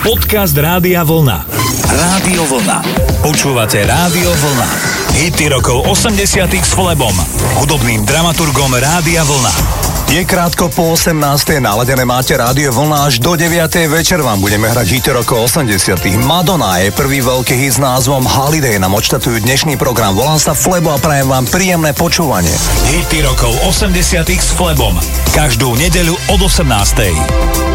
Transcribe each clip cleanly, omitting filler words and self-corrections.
Podcast Rádia Vlna. Rádio Vlna. Počúvate Rádio Vlna. Hity rokov 80 s Flebom, hudobným dramaturgom Rádia Vlna. Je krátko po 18. Naladené máte Rádio Vlna, až do 9. večer vám budeme hrať hity rokov 80. Madonna je prvý veľký hit s názvom Holiday, nám odštatujú dnešný program. Volám sa Flebo a prajem vám príjemné počúvanie. Hity rokov 80 s Flebom. Každú nedeľu od 18.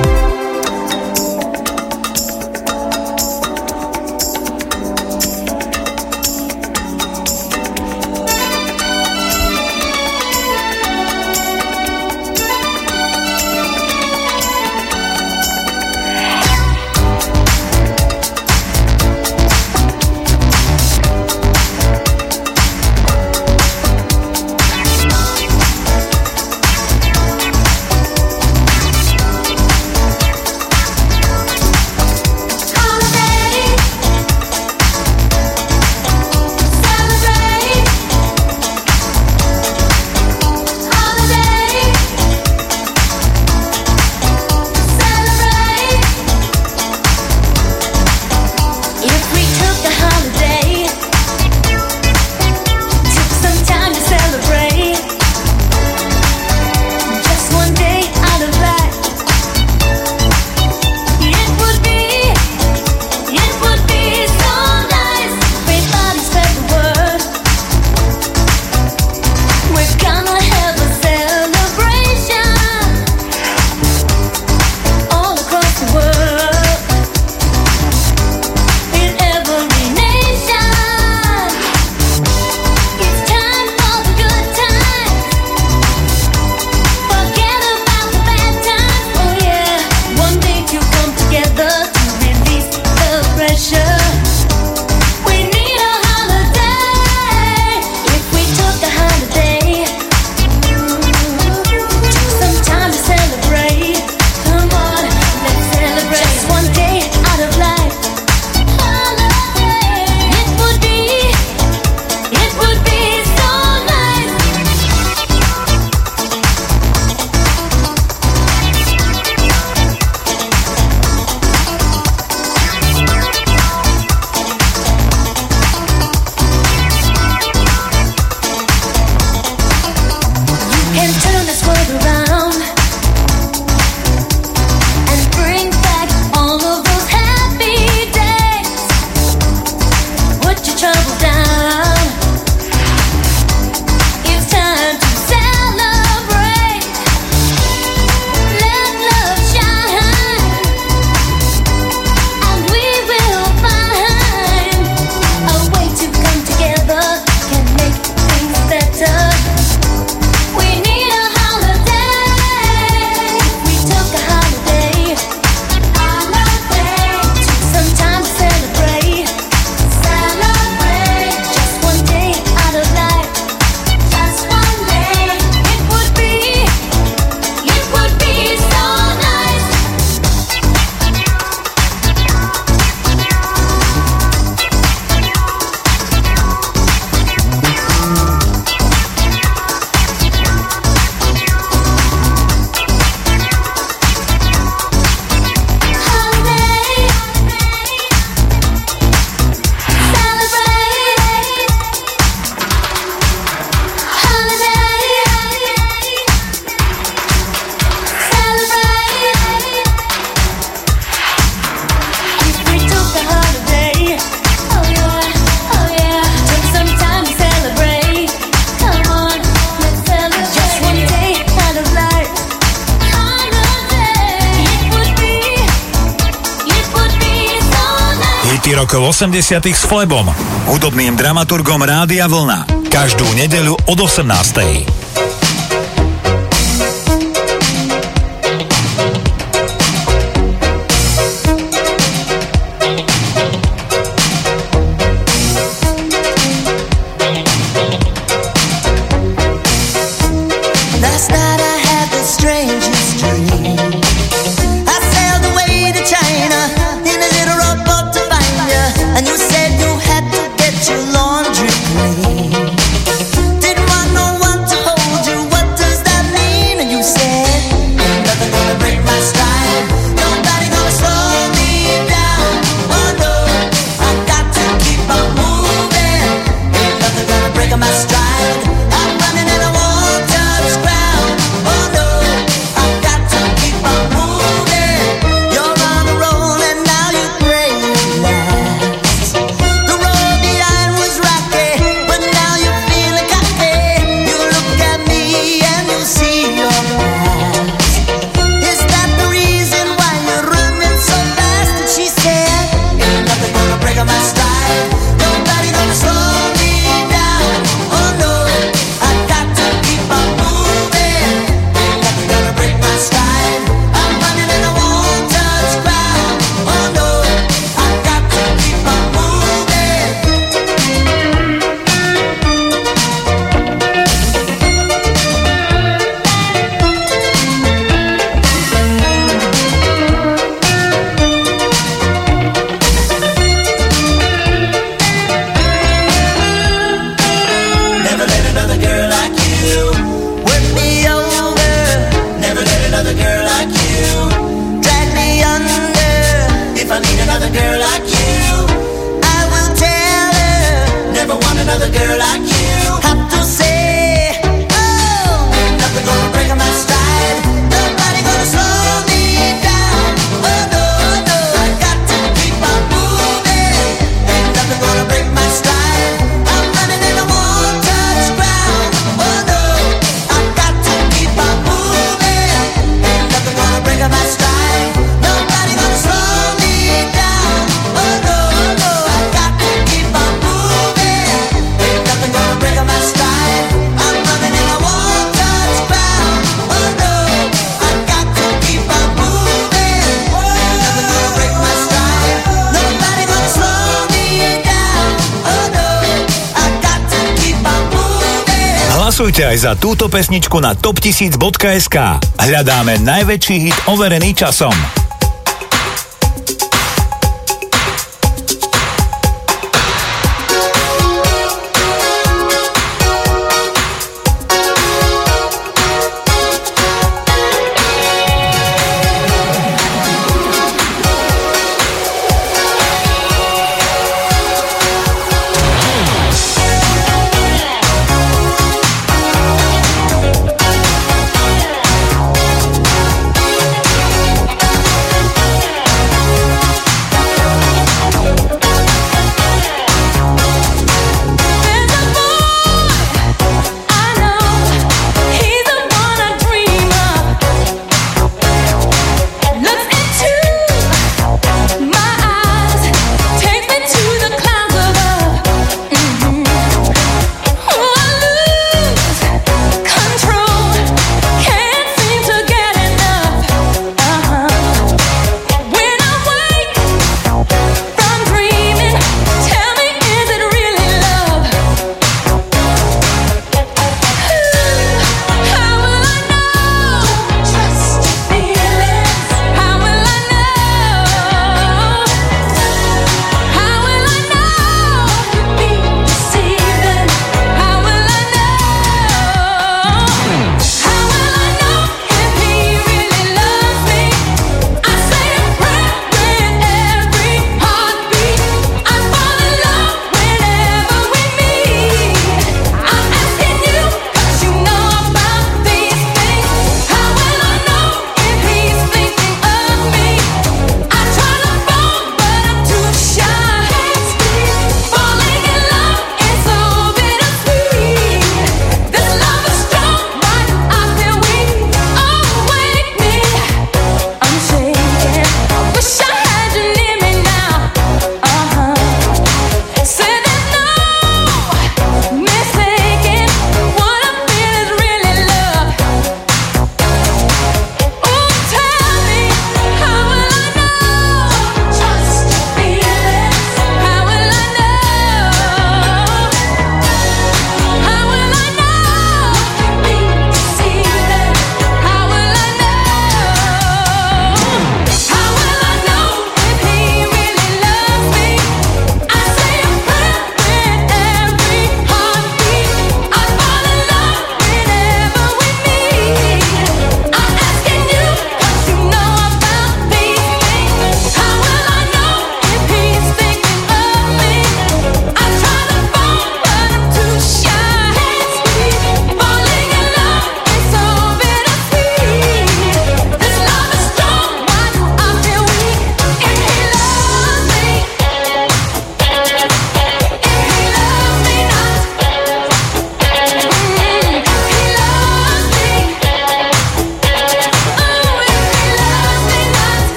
Rokov 80 s Flebom, hudobným dramaturgom Rádia Vlna. Každú nedeľu od 18. Didn't want no one to hold Hlasujte aj za túto pesničku na top1000.sk. Hľadáme najväčší hit overený časom.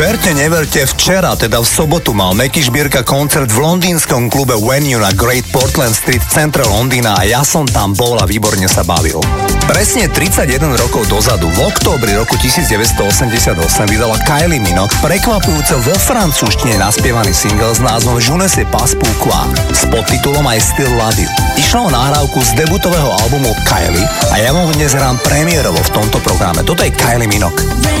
Verte, neverte, včera, teda v sobotu, mal Meky Šbírka koncert v londýnskom klube Venue na Great Portland Street v centre Londýna a ja som tam bol a výborne sa bavil. Presne 31 rokov dozadu, v októbri roku 1988, vydala Kylie Minogue prekvapujúco vo francúzštine naspievaný single s názvom Je ne sais pas pourquoi s podtitulom I Still Love You. Išlo o nahrávku z debutového albumu Kylie a ja vám dnes hrám premiérovo v tomto programe. Toto je Kylie Minogue.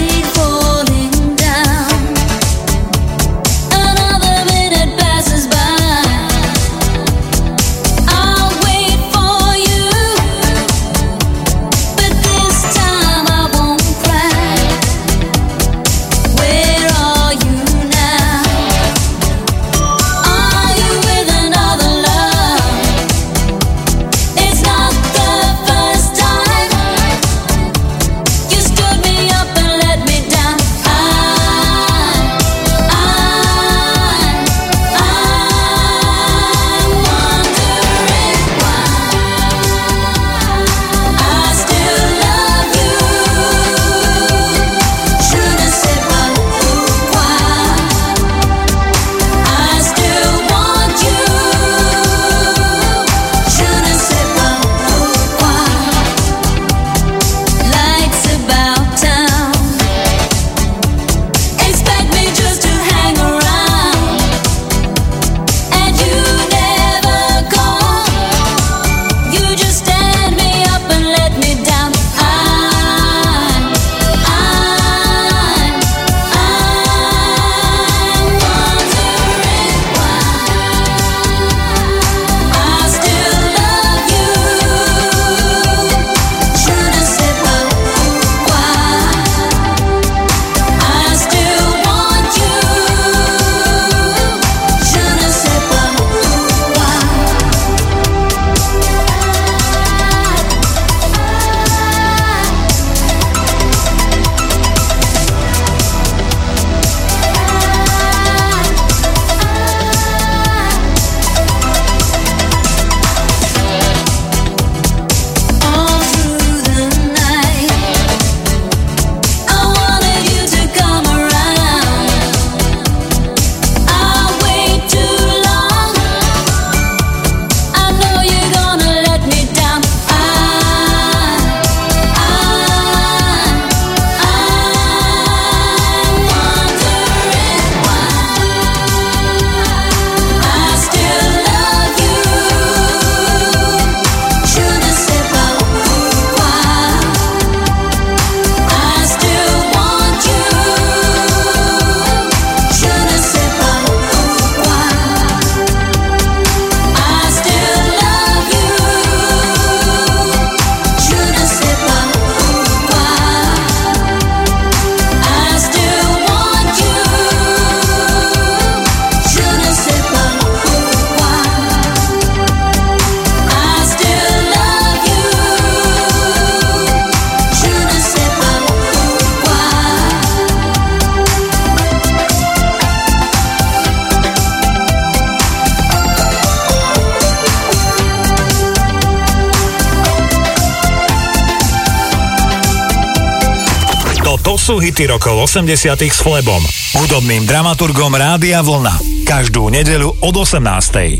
Sú hity rokov 80 s Flebom, hudobným dramaturgom Rádia Vlna. Každú nedeľu od 18.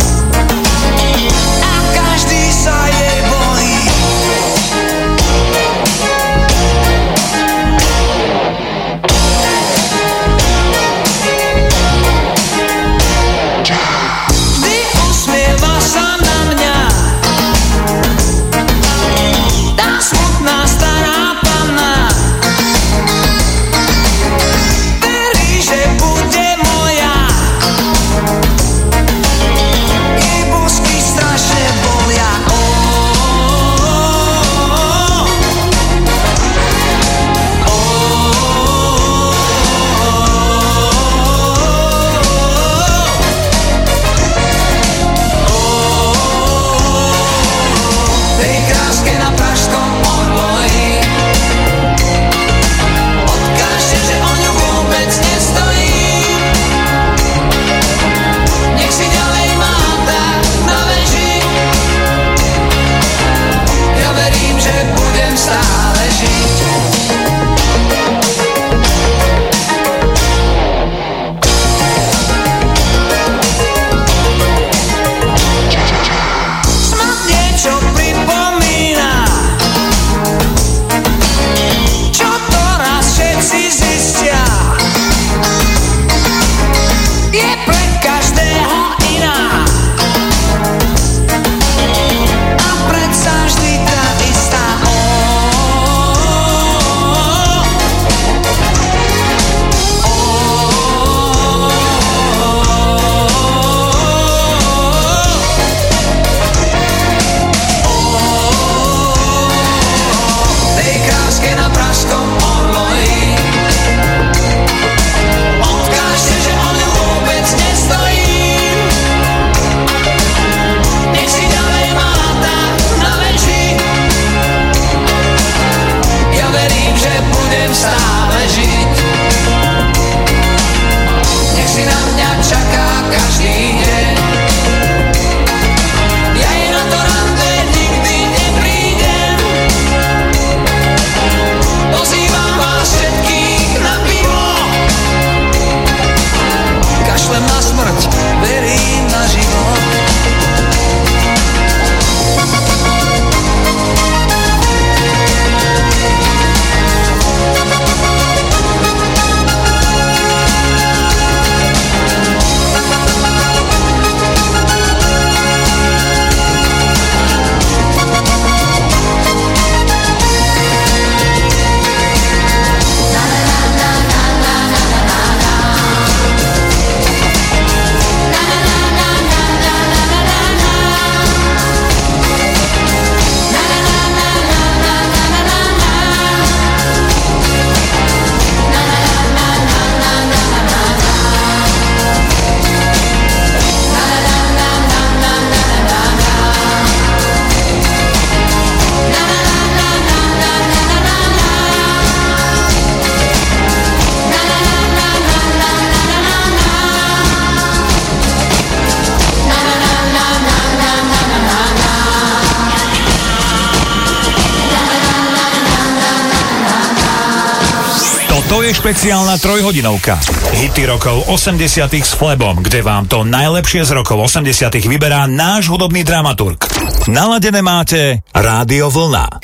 Každý sa jej bojí. každý deň. Ja jej na to rande nikdy neprídem. Pozývam vás všetkých na pivo. Kašlem na smrť, verím na život. To je špeciálna trojhodinovka. Hity rokov 80 s Flebom, kde vám to najlepšie z rokov 80 vyberá náš hudobný dramaturg. Naladené máte Rádio Vlna.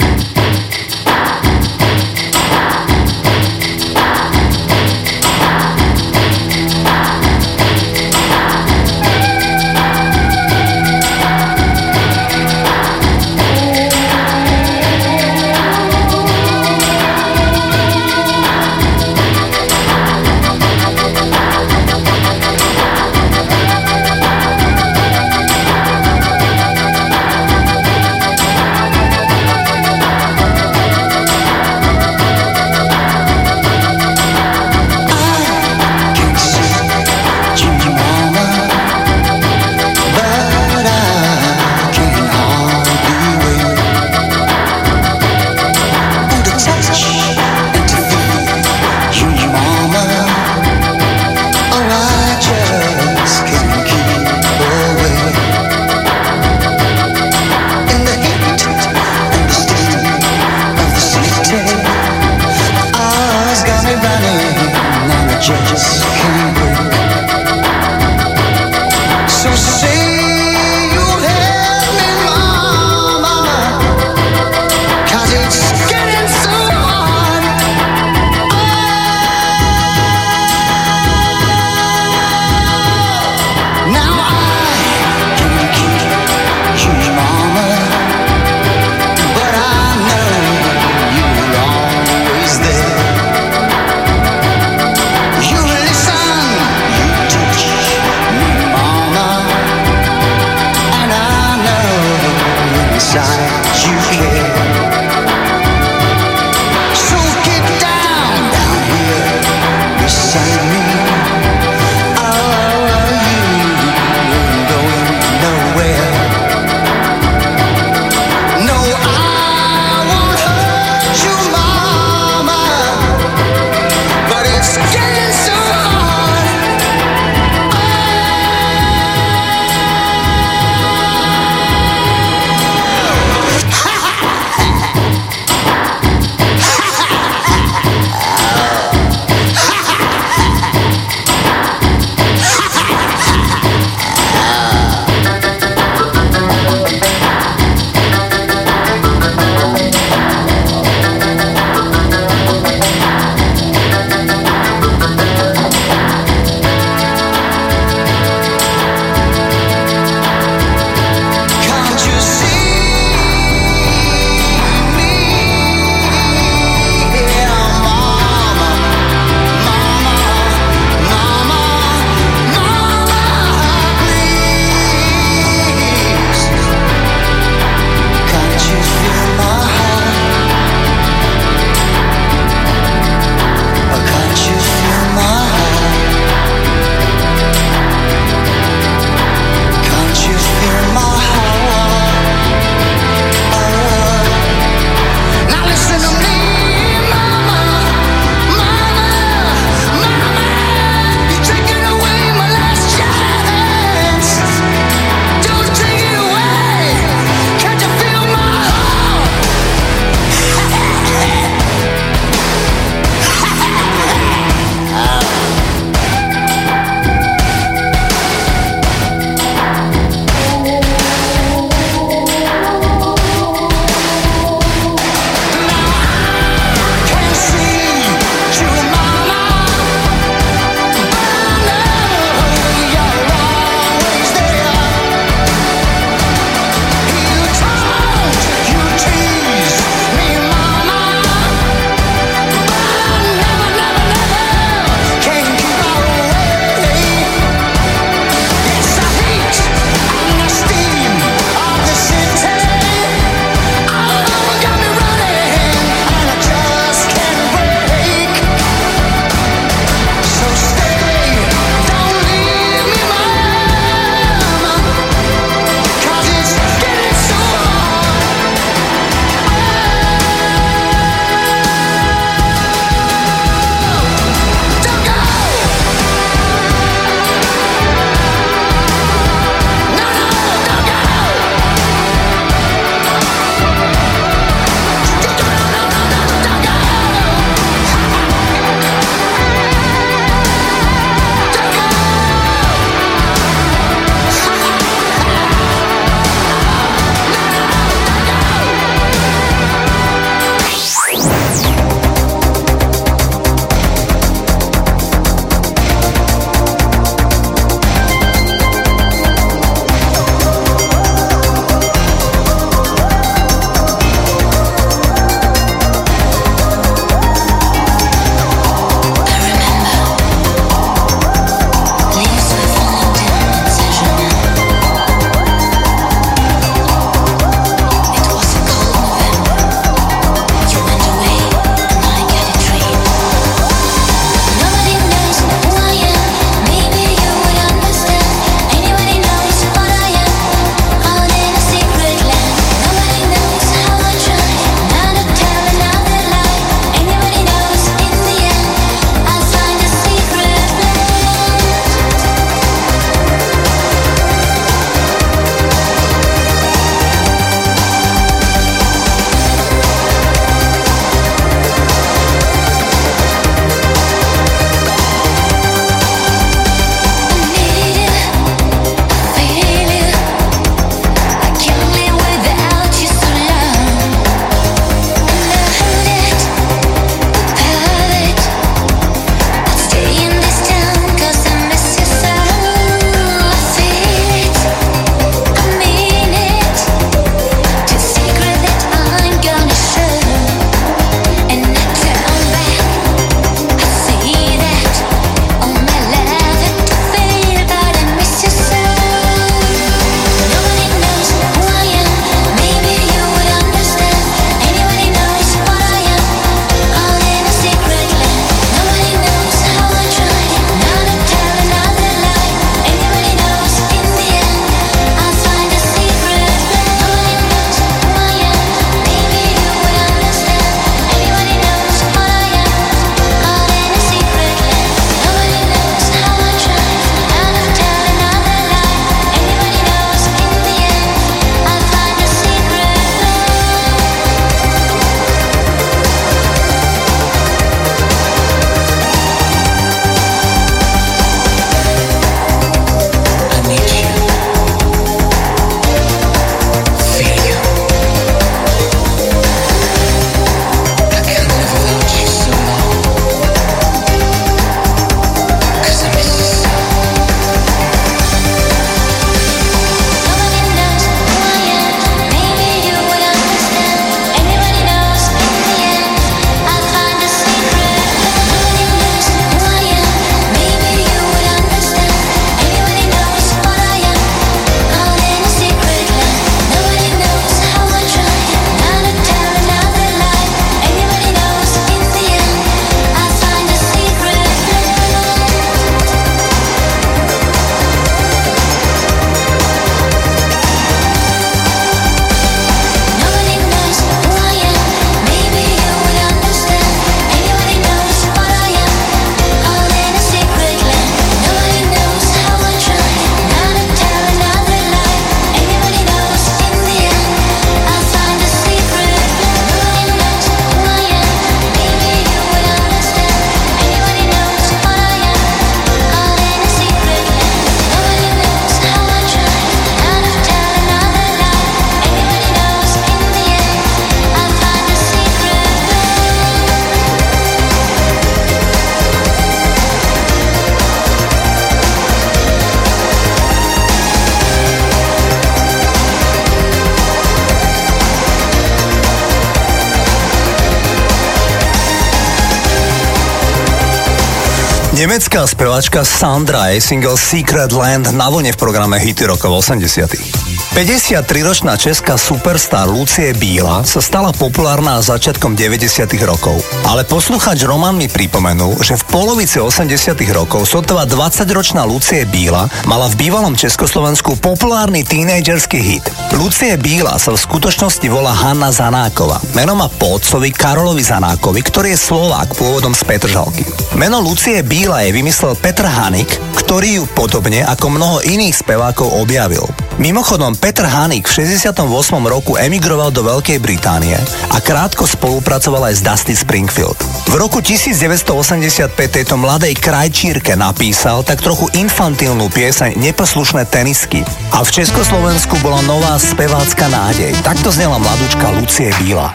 Nemecká speváčka Sandra je single Secret Land na vlne v programe Hity rokov 80. 53-ročná česká superstar Lucie Bíla sa stala populárna začiatkom 90. rokov. Ale poslucháč Roman mi pripomenul, že v polovici 80. rokov sotva 20-ročná Lucie Bíla mala v bývalom Československu populárny tínedžerský hit. Lucie Bíla sa v skutočnosti volá Hanna Zanáková. Meno má po otcovi Karolovi Zanákovi, ktorý je Slovák pôvodom z Petržalky. Meno Lucie Bíla je vymyslel Petr Hanik, ktorý ju podobne ako mnoho iných spevákov objavil. Mimochodom, Petr Hanik v 68. roku emigroval do Veľkej Británie a krátko spolupracoval aj s Dusty Springfield. V roku 1985 tejto mladej krajčírke napísal tak trochu infantilnú pieseň Neposlušné tenisky. A v Československu bola nová spevácka nádej. Takto znela mladúčka Lucie Bíla.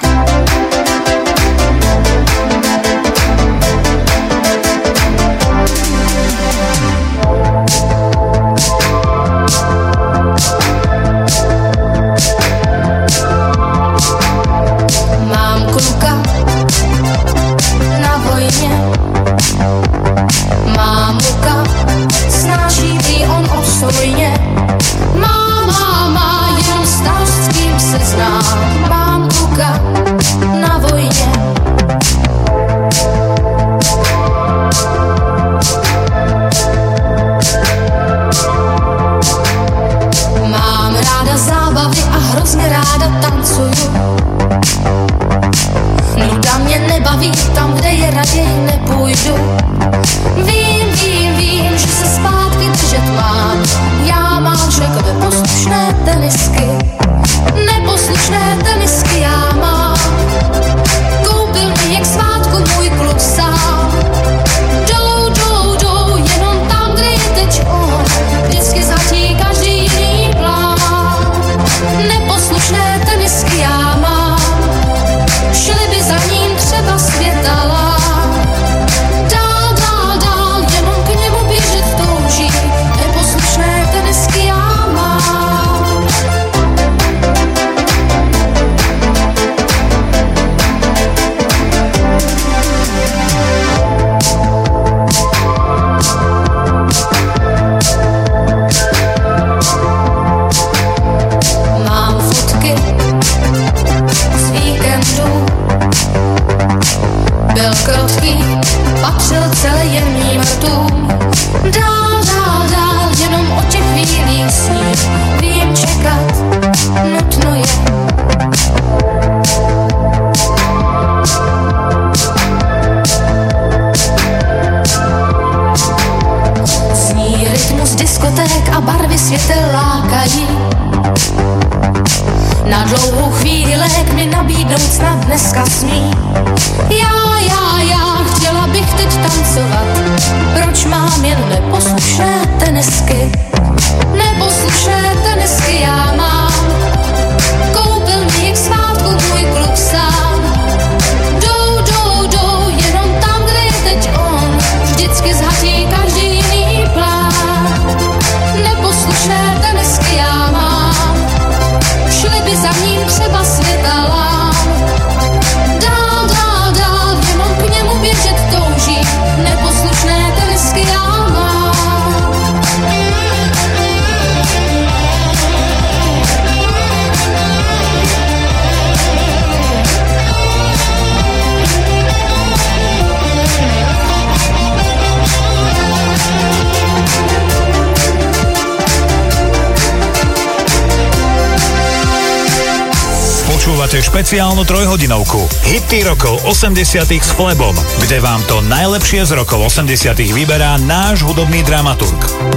Počúvate špeciálnu trojhodinovku Hity rokov 80 s Flebom, kde vám to najlepšie z rokov 80 vyberá náš hudobný dramaturg.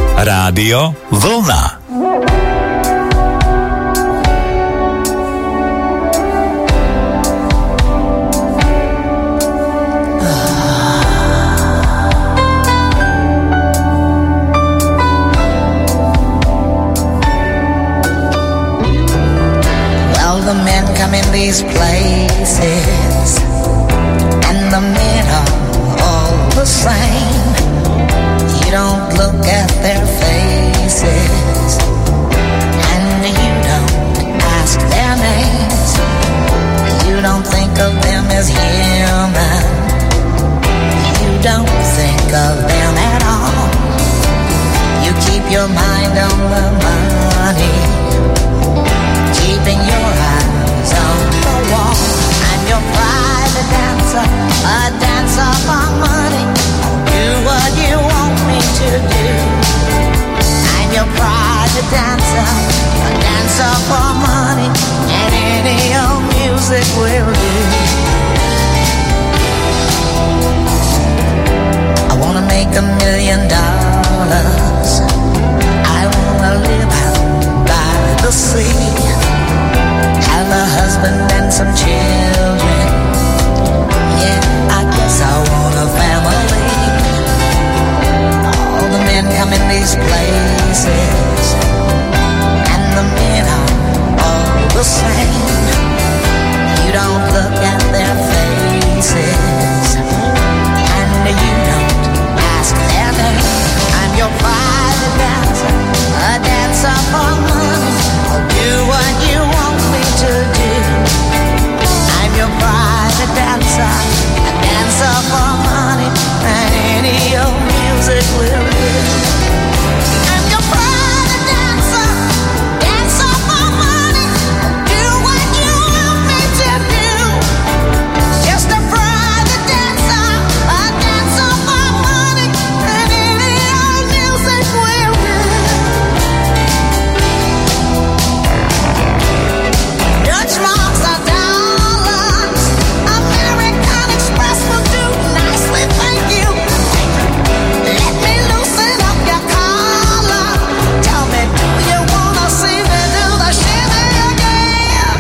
Rádio Vlna. These places and the men are all the same. You don't look at their faces and you don't ask their names. You don't think of them as human. You don't think of them as mind on the money, keeping your eyes on the wall. I'm your private dancer, a dancer for money. I'll do what you want me to do. I'm your private dancer, a dancer for money, and any old music will do. I wanna make $1 million. I wanna live out by the sea, have a husband and some children. Yeah, I guess I want a family. All the men come in these places, and the men are all the same. You don't look at their faces, and you don't ask their name. I'm your private dancer, a dancer for money. I'll do what you want me to do. I'm your private dancer, a dancer for money, and any old music will do. I'm your private dancer, dancer for money. I'll do what you want me to do. Just a private dancer, a dancer for money, and any old music will do. Dutch marks are dollars, American Express will do nicely, thank you. Let me loosen up your collar. Tell me, do you wanna see me do the shimmy again?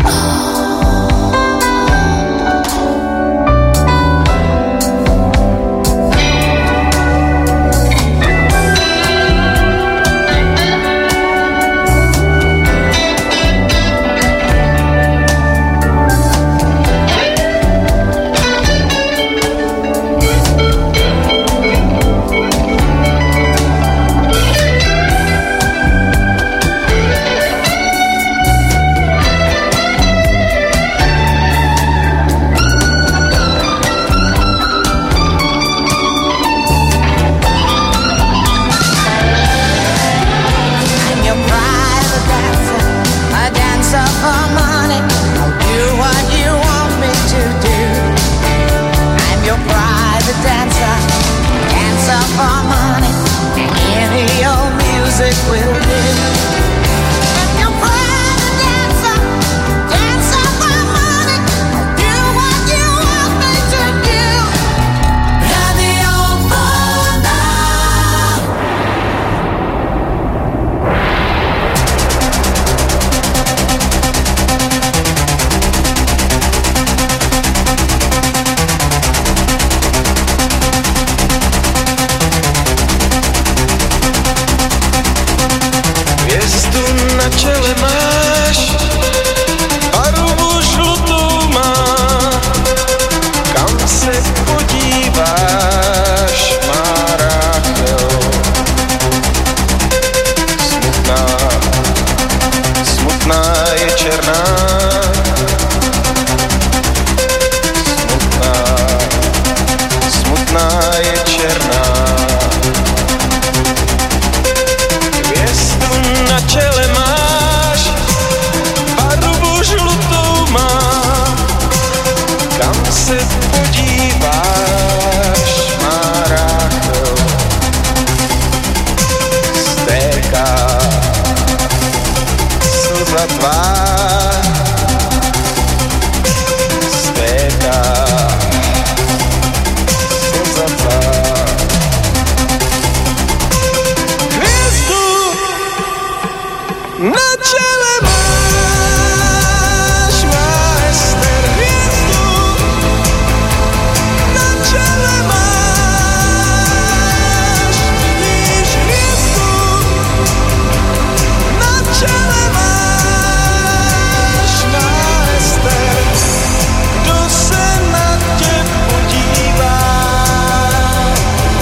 I'm your private dancer, a dancer for money. I'll do what you want me to do. I'm your private dancer, dancer for money, and any old music will do. I'm your private dancer, dancer for money. I'll do what you want me to do. Radio Vlna. Hviezdu na čele máš, barvu žlutou má, kam se podíváš, má Ráchel. Smutná, smutná je černá, smutná, smutná je černá. Hvězdu na čele máš, barvu žlutou má, kam se podíváš, má Ráchel. Stéká slza tvá, stéká slza tvá. Hvězdu na čele máš, má Ester. Hvězdu na čele máš, vidíš hvězdu na čele máš, má Ester. Kdo se na tě podívá?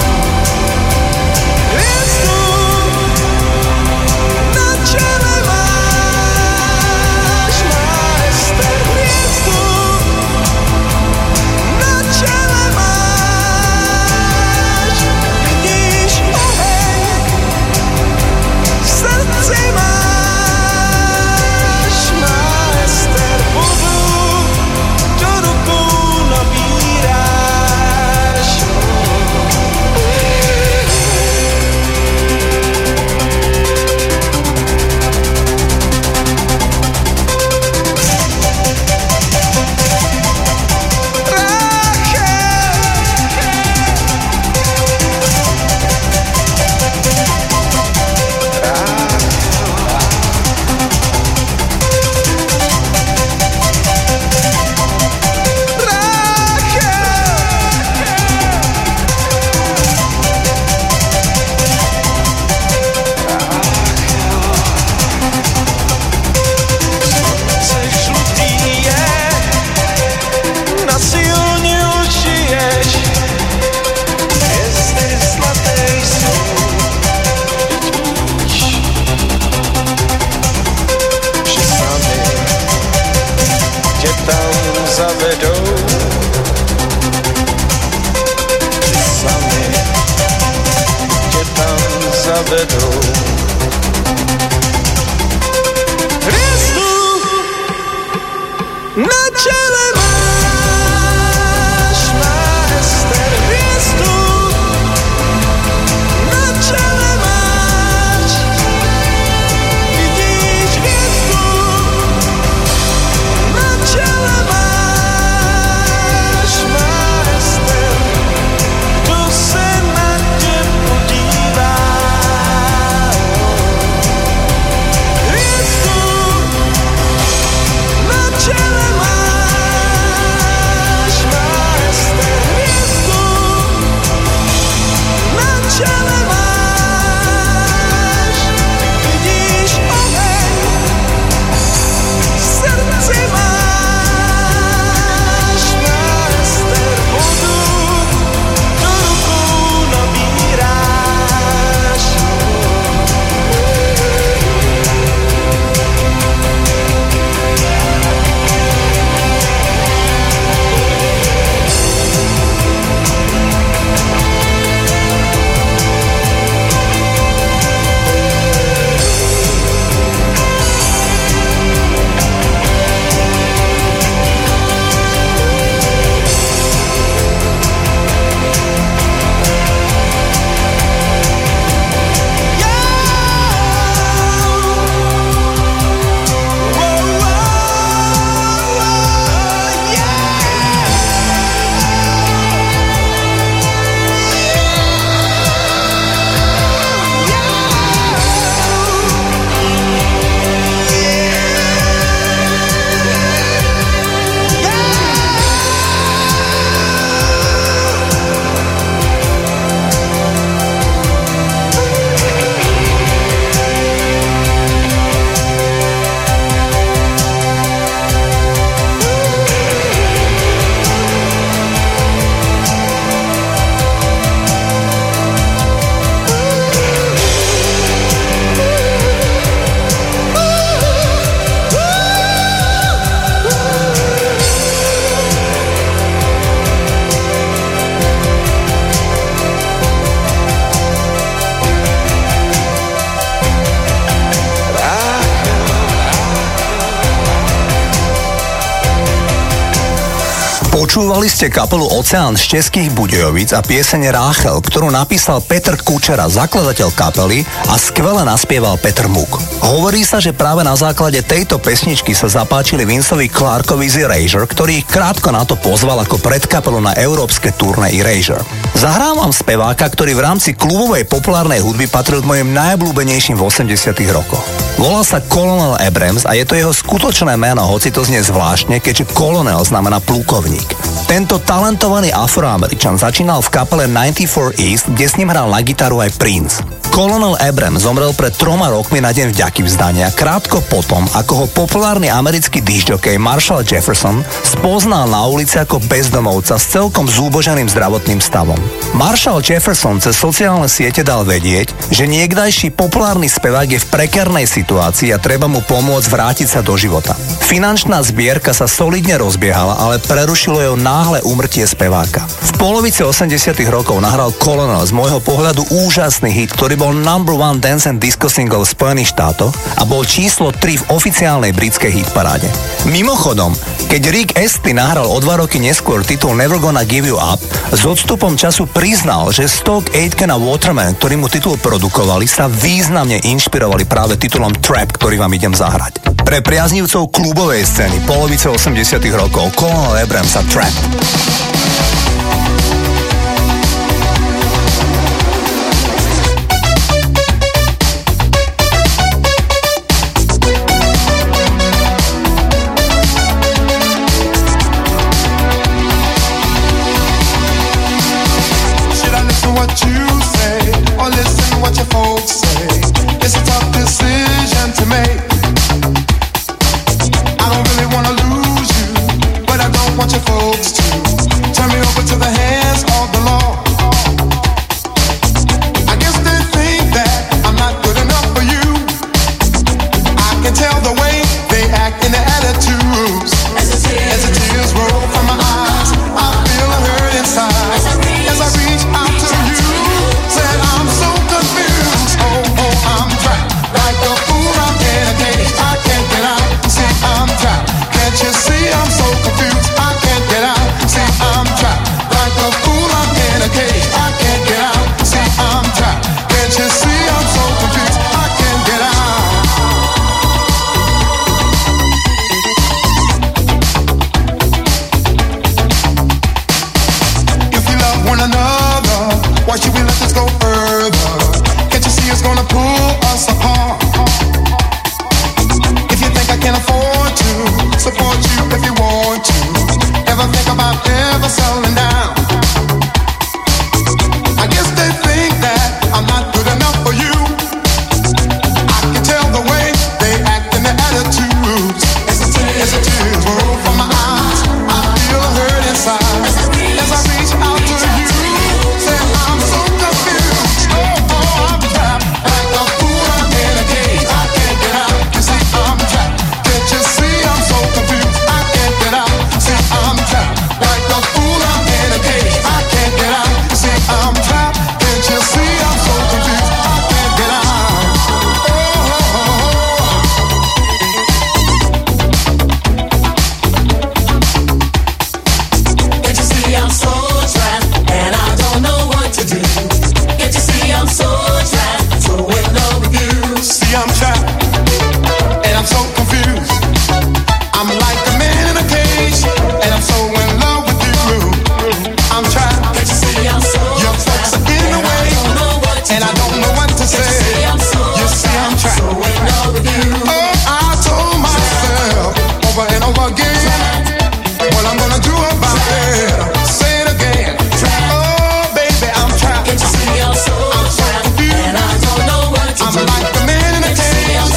Hvězdu na čele máš. Počúvali ste kapelu Oceán z Českých Budějovic a pieseň Ráchel, ktorú napísal Petr Kučera, zakladateľ kapely, a skvele naspieval Petr Muk. Hovorí sa, že práve na základe tejto pesničky sa zapáčili Vinceovi Clarkovi z Erasure, ktorý ich krátko na to pozval ako predkapelu na európske turné Erasure. Zahrávam speváka, ktorý v rámci klubovej populárnej hudby patril k mojim najobľúbenejším v 80. rokoch. Volá sa Colonel Abrams a je to jeho skutočné meno, hoci to znie zvláštne, keďže Colonel znamená plukovník. Tento talentovaný Afroameričan začínal v kapele 94 East, kde s ním hral na gitaru aj Prince. Colonel Abrams zomrel pred 3 rokmi na deň vďaky vzdania, krátko potom, ako ho populárny americký discjockey Marshall Jefferson spoznal na ulici ako bezdomovca s celkom zúboženým zdravotným stavom. Marshall Jefferson cez sociálne siete dal vedieť, že niekdajší populárny spevák je v prekérnej situácii a treba mu pomôcť vrátiť sa do života. Finančná zbierka sa solidne rozbiehala, ale prerušilo jeho náhle úmrtie speváka. V polovici 80. rokov nahral Colonel z môjho pohľadu úžasný hit, ktorý bol #1 dance and disco single v Spojených štátoch a bol číslo 3 v oficiálnej britskej hitparáde. Mimochodom, keď Rick Astley nahral o 2 roky neskôr titul Never Gonna Give You Up, s odstupom času priznal, že Stock Aitken a Waterman, ktorí mu titul produkovali, sa významne inšpirovali práve titulom Trap, ktorý vám idem zahrať. Pre priaznivcov klubovej scény polovice 80. rokov Colonel Abrams a Trap. What you say, or listen what your folks say. It's a tough decision to make. I don't really wanna lose you, but I don't want your folks to turn me over to the hands of the law. I guess they think that I'm not good enough for you. I can tell the way they act in their attitudes. As the tears roll from my eyes, I feel a hurt inside. As I reach out to you, said I'm so confused. Oh, I'm trapped like a fool. I'm in a cage. I can't get out. See, I'm trapped. Can't you see I'm so confused? I can't get out. See, I'm trapped like a fool. I'm in a cage. I can't get out. See, I'm trapped. Can't you see I'm so confused? I can't get out. If you love one another, why should we let this go further? Can't you see it's gonna pull us apart? If you think I can afford to support you if you want to, ever think about ever settling down? I guess they think that I'm not good enough for you. I can tell the way they act in their attitudes. As the tears roll from my eyes, I feel a hurt inside. As I reach out to you, say I'm so confused. Oh, I'm trapped like a fool. I'm in a cage. I can't get out. You see, I'm trapped. Can't you see I'm so confused? I can't get out. See, I'm trapped like a fool. I'm in a cage. I can't get out. You see, I'm trapped. Can't you see I'm so confused? I can't get out. Can't you see I'm so trapped and I don't know what to do? Can't you see I'm so trapped, so in love with you? See, I'm trapped and I'm so confused. I'm like a man in a cage and I'm so in love with you. I'm trapped. Can't you see I'm so Your folks are in the way I don't know what to and I do. don't know what to Can't you say. see I'm so You see, I'm trapped. so in love with you? Oh, I told myself over and over again what I'm gonna do about it. Say it again. Oh, baby, I'm trapped. Can't you see I'm so trapped confused. and I don't know what to I'm do? like the man in a Can't you see cage I'm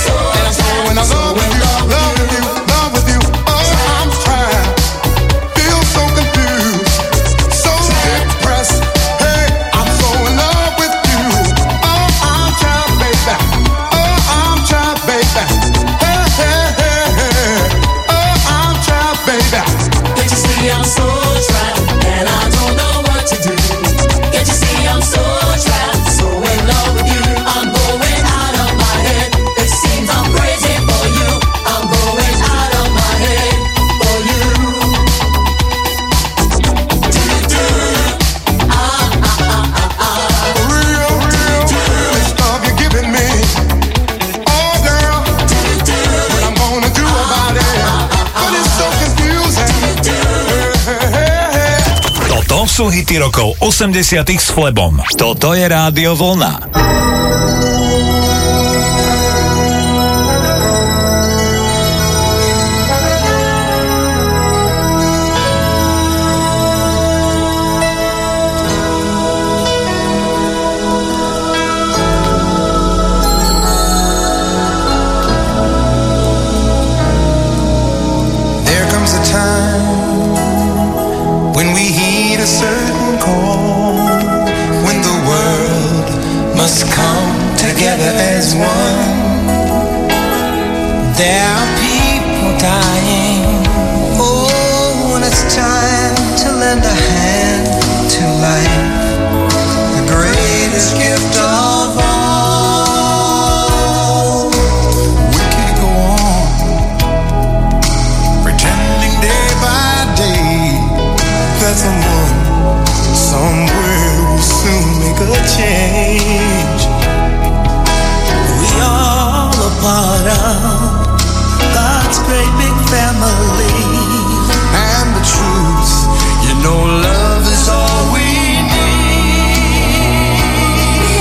sú hity rokov 80 s Flebom. Toto je Rádio Vlna. As one, there are people dying. Oh, when it's time to lend a hand to life, the greatest gift of all. We can't go on pretending day by day that someone somewhere will soon make a change. All a part of God's great big family. And the truth, you know, love is all we need.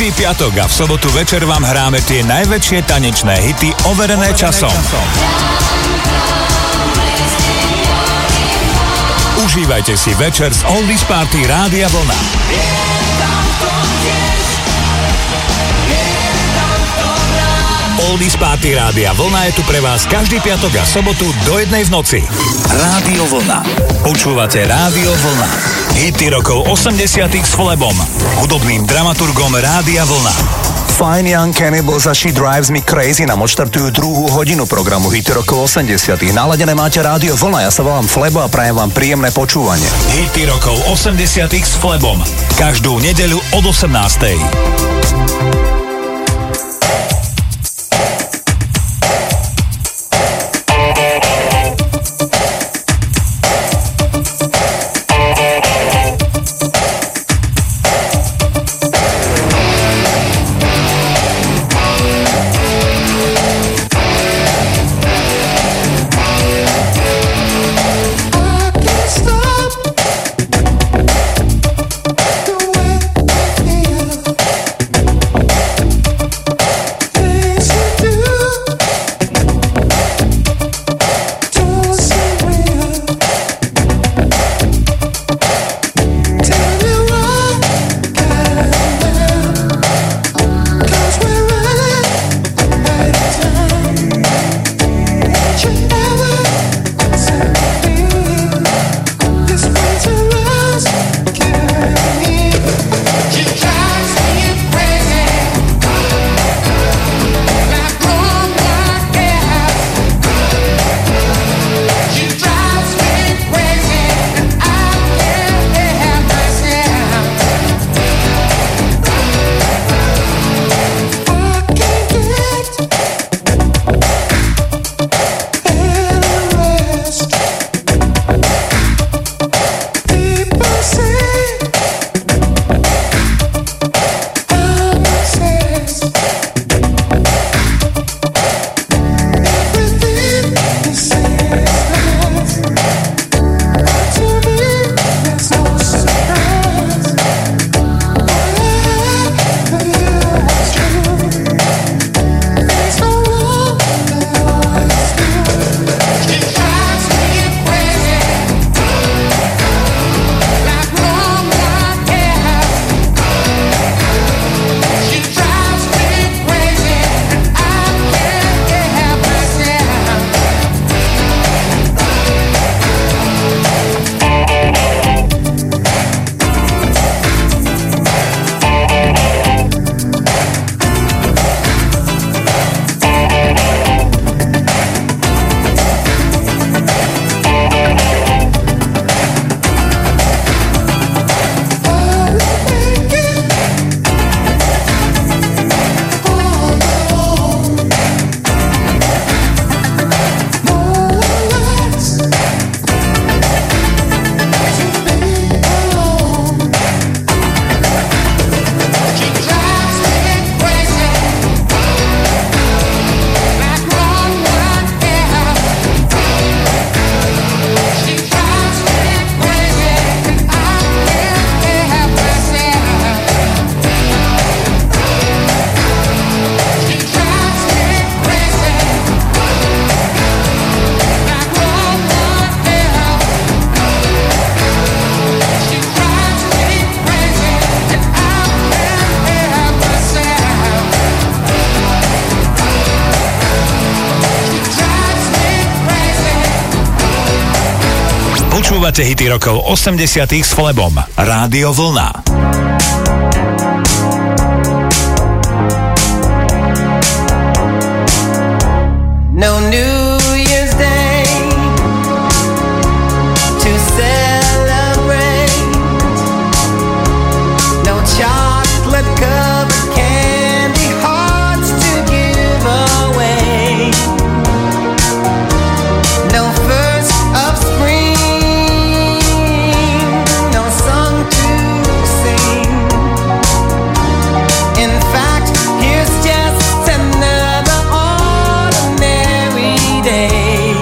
každý piatok a v sobotu večer vám hráme tie najväčšie tanečné hity overené časom. Užívajte si večer z Oldies Party Rádia Vlna. Oldies Party Rádia Vlna je tu pre vás každý piatok a sobotu do 1 v noci. Rádio Vlna. Počúvate Rádio Vlna. Hity rokov 80 s Flebom, hudobným dramaturgom Rádia Vlna. Fine Young Cannibals a She Drives Me Crazy nám odštartujú 2. hodinu programu Hity rokov 80. Naladené máte Rádio Vlna, ja sa volám Flebo a prajem vám príjemné počúvanie. Hity rokov 80 s Flebom. Každú nedeľu od 18. Počúvate hity rokov 80 s Flebom. Rádio Vlna. No New Year's Day to celebrate. No chocolate covered candy hearts to give away. No first of spring, no song to sing. In fact, here's just another ordinary day.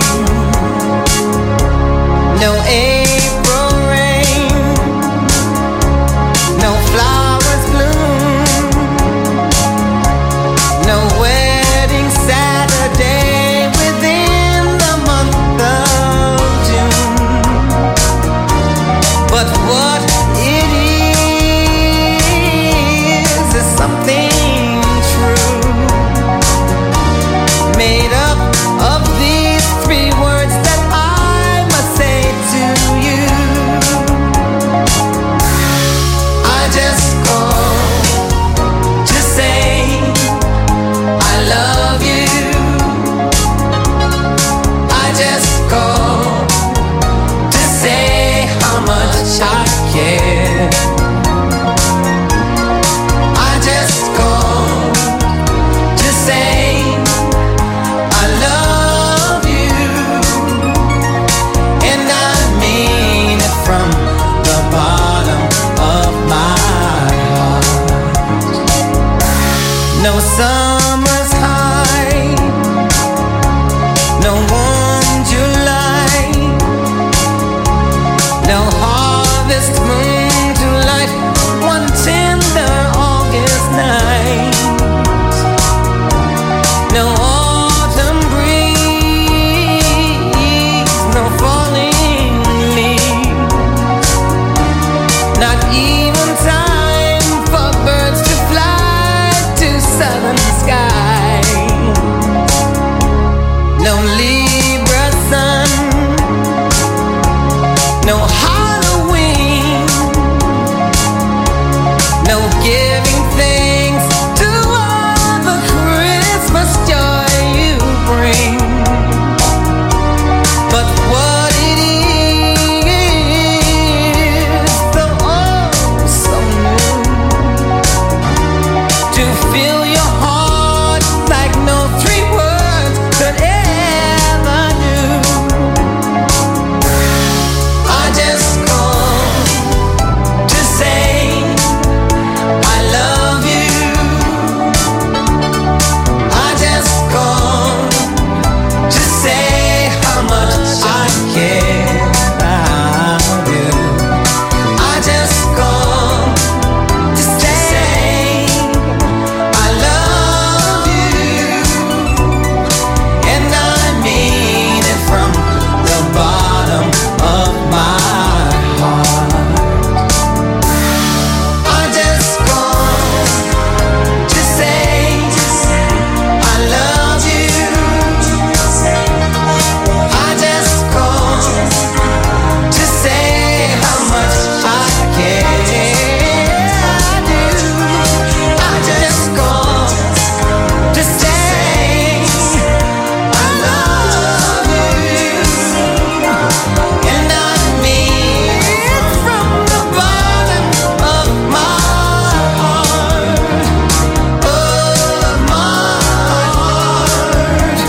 No April rain, no flowers bloom. No summer's high, no warm July, no harvest moon to light one tender August night, no autumn breeze, no falling leaves, not even time for birds to fly to southern sky. No Libra sun, no Halloween, no giving thanks to all the Christmas joy you bring. But what it is, so oh so new, to fill your heart like no three words could ever do. I just called to say I love you. I just called to say how much I care about you. I just called to say I love you, and I mean it from the bottom of my heart. I just called to say I love you. I just called to say how much I care. I do. I just called to say I love you, and I mean it from the bottom of my heart, of my heart,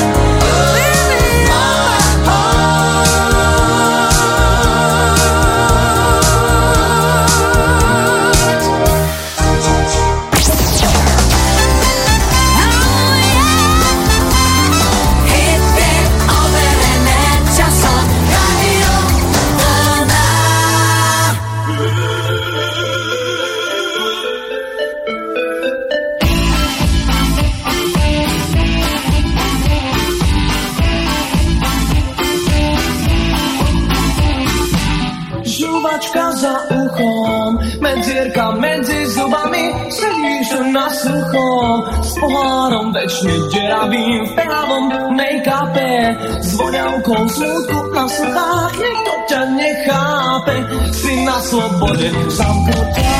Žuvačka za uchom, medzierka medzi zubami, sedíš na sucho, s pohárom večne deravým v právom make-upe, s voňavkou smutku na sluchách, nikto ťa nechápe, si na slobode zamknutá.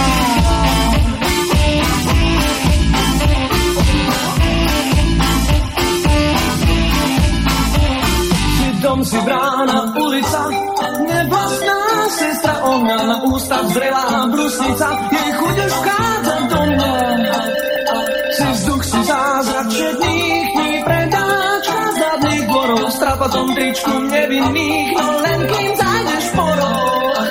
Si dom, si brána, ulica, nevlastná sestra ohňa, na ústa zrelá brusnica, jej chuť už vchádza do mňa. Si vzduch, si zázrak všetných dní, predáčka zadných dvorov, s trapatom tričku nevinných, no len kým zájdeš po roh.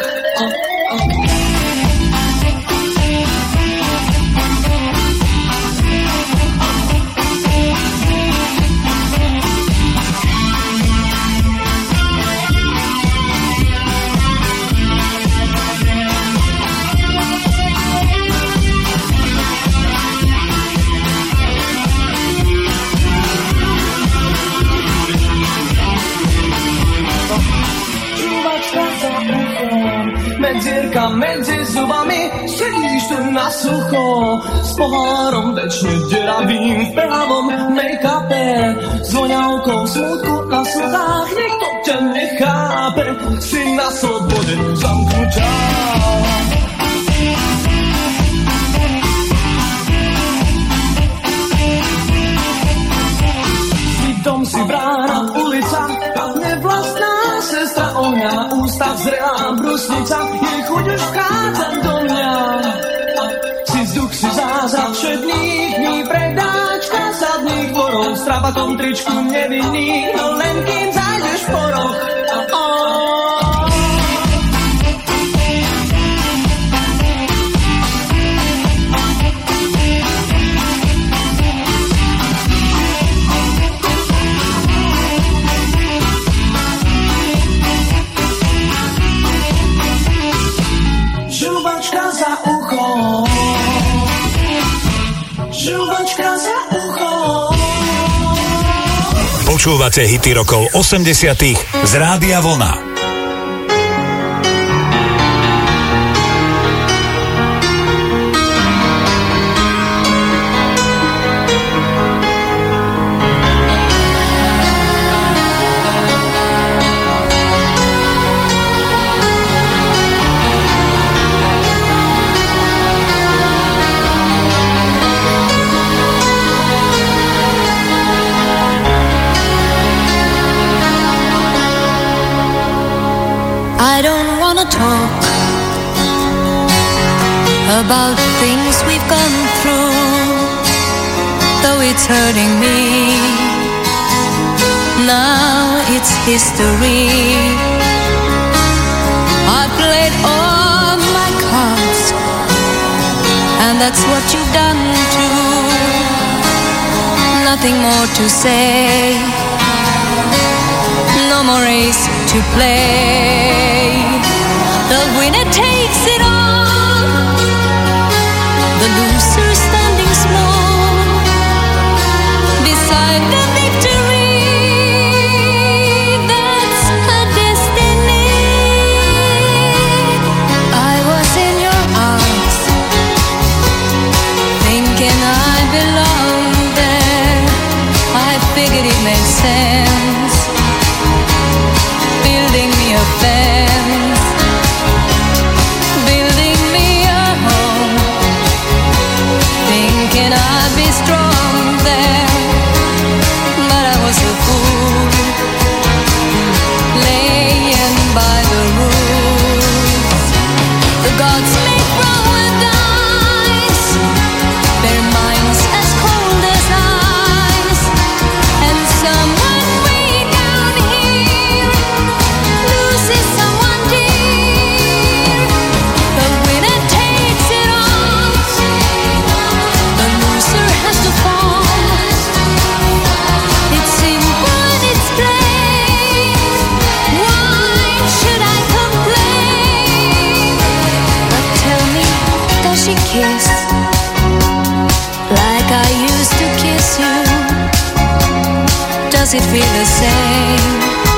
Medzierka medzi zubami, sedíš tu na sucho, s pohárom večne deravým v pravom make-upe, s voňavkou smutku na sluchách, nikto ťa nechápe, si na slobode zamknutá. Si dom, si brána, ulica, nevlastná sestra ohňa, na ústa zrelá brusnica, jej chuť už vchádza do mňa. Si vzduch, si zázrak všetných dní, predáčka zadných dvorov, s trapatom tričku nevinných, no len kým zájdeš po roh. Žuvačka za uchom. Počúvate hity rokov 80 z Rádia Vlna. Talk about things we've gone through, though it's hurting me. Now it's history. I played all my cards, and that's what you've done too. Nothing more to say, no more race to play. The winner takes it all, the loser standing small beside the victory. That's a destiny. I was in your arms, thinking I belonged there. I figured it made sense, building me a fence. I'd be strong there, but I was a fool, laying by the rules. The gods make roll with dice, their minds as cold as ice, and someone way down here loses someone dear. The winner takes it all, the loser has to fall. It's simple and it's plain. Why should I complain? But tell me, does she kiss like I used to kiss you? Does it feel the same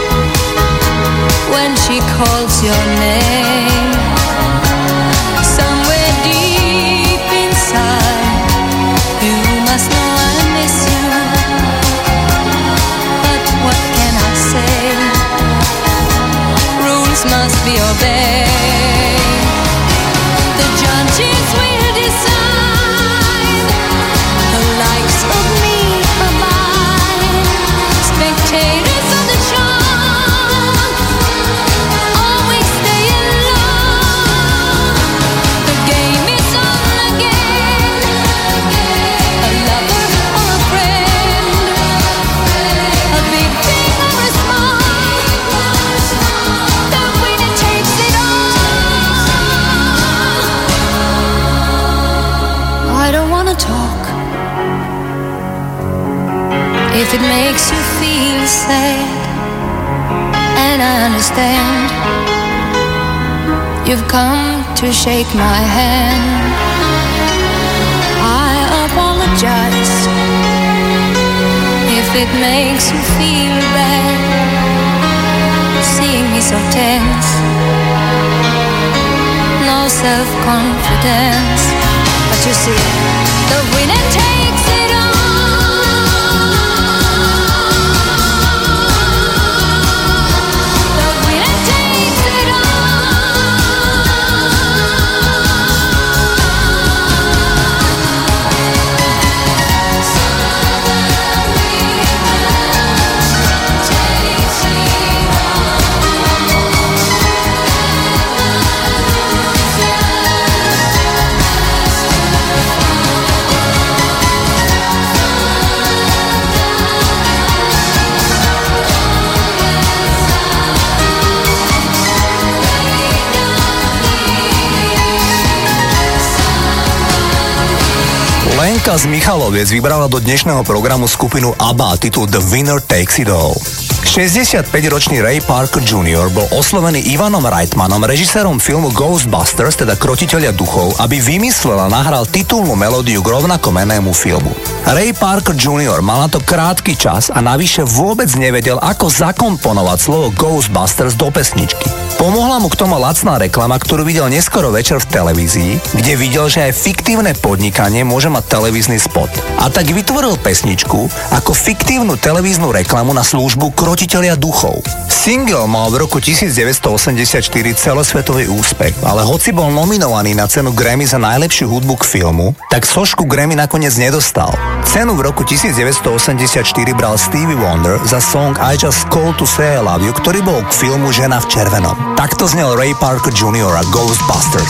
when she calls your name? Somewhere deep inside, you must know I miss you. But what can I say? Rules must be obeyed. The judges will decide the likes of me or mine. Spectators of the show always stay in love. The game is on again. A lover or a friend, a big thing or a small, the winner takes it all. I don't wanna talk if it makes you feel sad, and I understand. You've come to shake my hand. I apologize if it makes you feel bad, seeing me so tense, no self-confidence. But you see, the winner takes it all. The winner takes it Lenka z Michaloviec vybrala do dnešného programu skupinu ABBA, titul The Winner Takes It All. 65-ročný Ray Parker Jr. bol oslovený Ivanom Reitmanom, režisérom filmu Ghostbusters, teda Krotiteľia duchov, aby vymyslel a nahral titulnú melódiu k rovnakomennému filmu. Ray Parker Jr. mal na to krátky čas a navyše vôbec nevedel, ako zakomponovať slovo Ghostbusters do pesničky. Pomohla mu k tomu lacná reklama, ktorú videl neskoro večer v televízii, kde videl, že aj fiktívne podnikanie môže mať televízny spot. A tak vytvoril pesničku ako fiktívnu televíznu reklamu na službu Krotiteľia duchov. Single mal v roku 1984 celosvetový úspech, ale hoci bol nominovaný na cenu Grammy za najlepšiu hudbu k filmu, tak sošku Grammy nakoniec nedostal. Cenu v roku 1984 bral Stevie Wonder za song I Just Called to Say I Love You, ktorý bol k filmu Žena v červenom. Takto znel Ray Parker Jr. a Ghostbusters.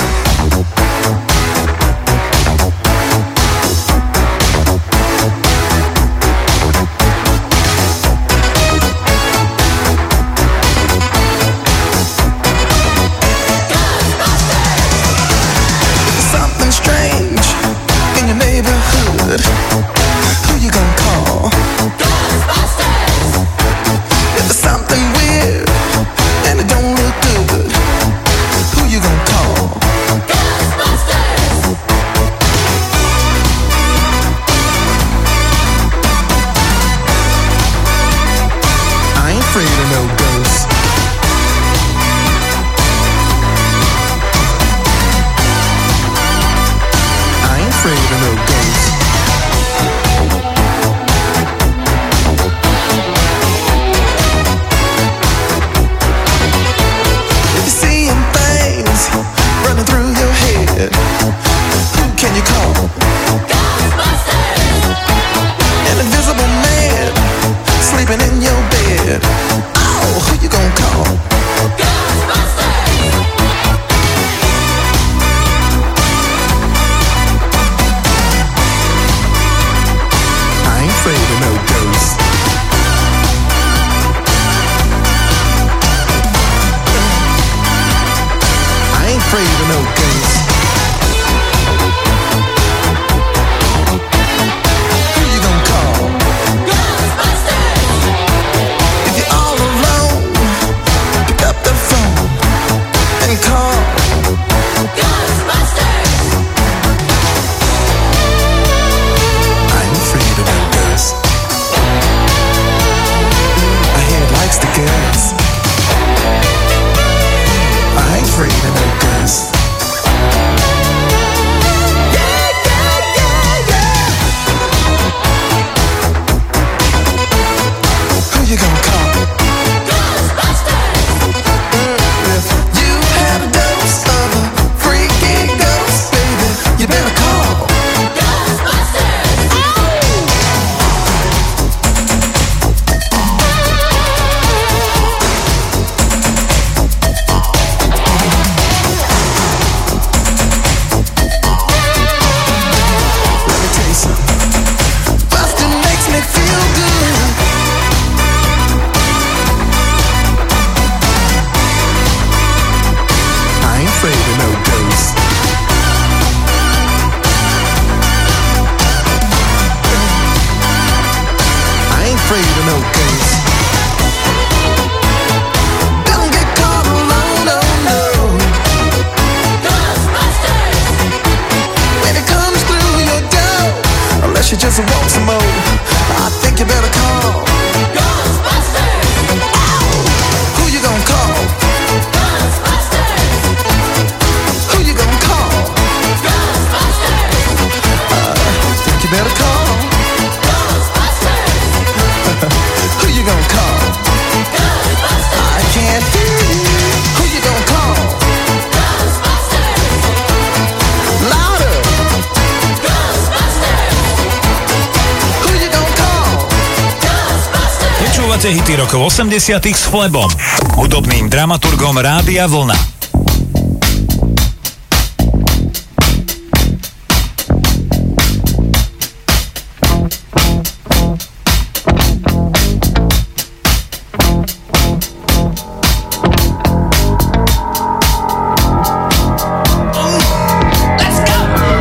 Hity rokov 80 s Flebom, hudobným dramaturgom Rádia Vlna.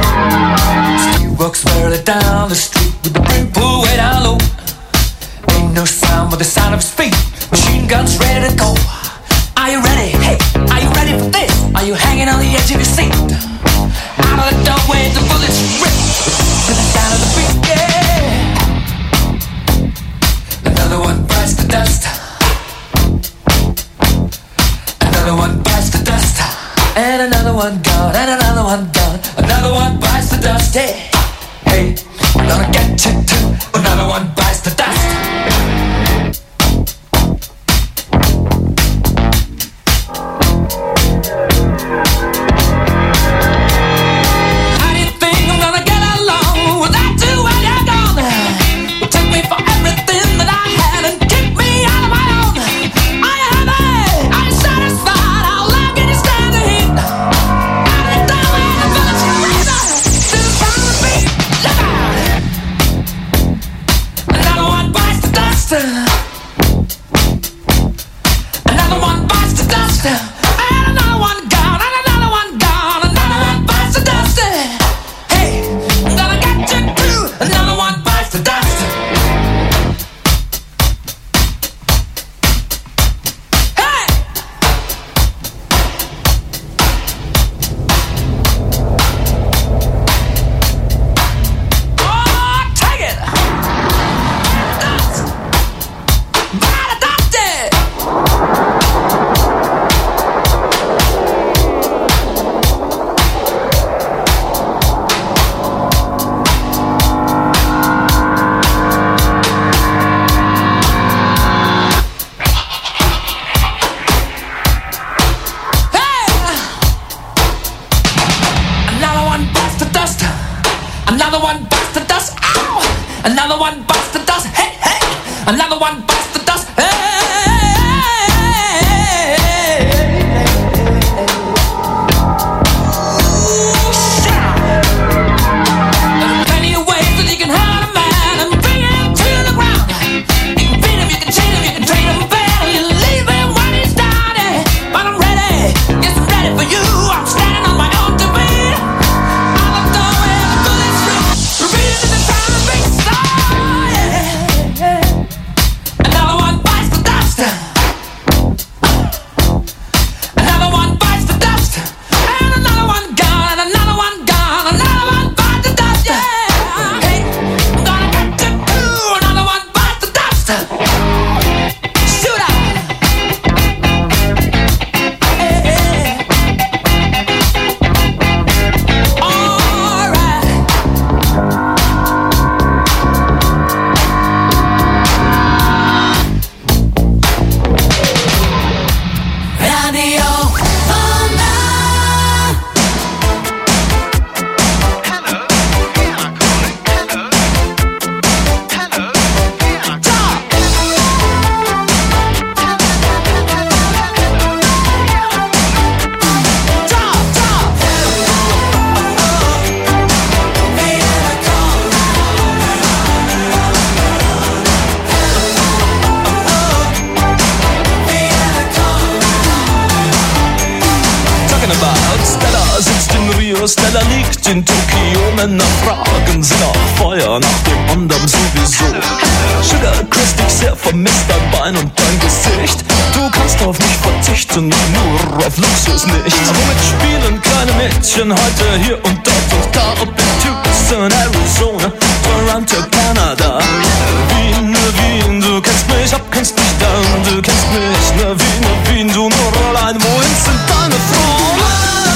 Walks barely down the street with the brim pulled way down low. Ain't new sound with the sound of his feet. Machine guns ready to go. Are you ready? Hey, are you ready for this? Are you hanging on the edge of your seat? Out of the doorway, the bullets rip to the sound of the beat. Yeah. Another one bites the dust. Another one bites the dust. And another one gone. And another one gone. Another one bites the dust. Hey, hey, I'm gonna get you too. Another one bites the dust. Stella liegt in Tokio, Männer fragen sie nach Feuer, nach dem anderen sowieso. Sugar küsst dich sehr, vermisst dein Bein und dein Gesicht. Du kannst auf mich verzichten, nur auf Luxus nicht. Womit spielen kleine Mädchen heute hier und dort und da? Ob in Tucson, Arizona, Toronto, Kanada. Wien, Wien, du kennst mich, kennst mich dann. Du kennst mich, Wien, du nur allein. Wohin sind deine Frauen?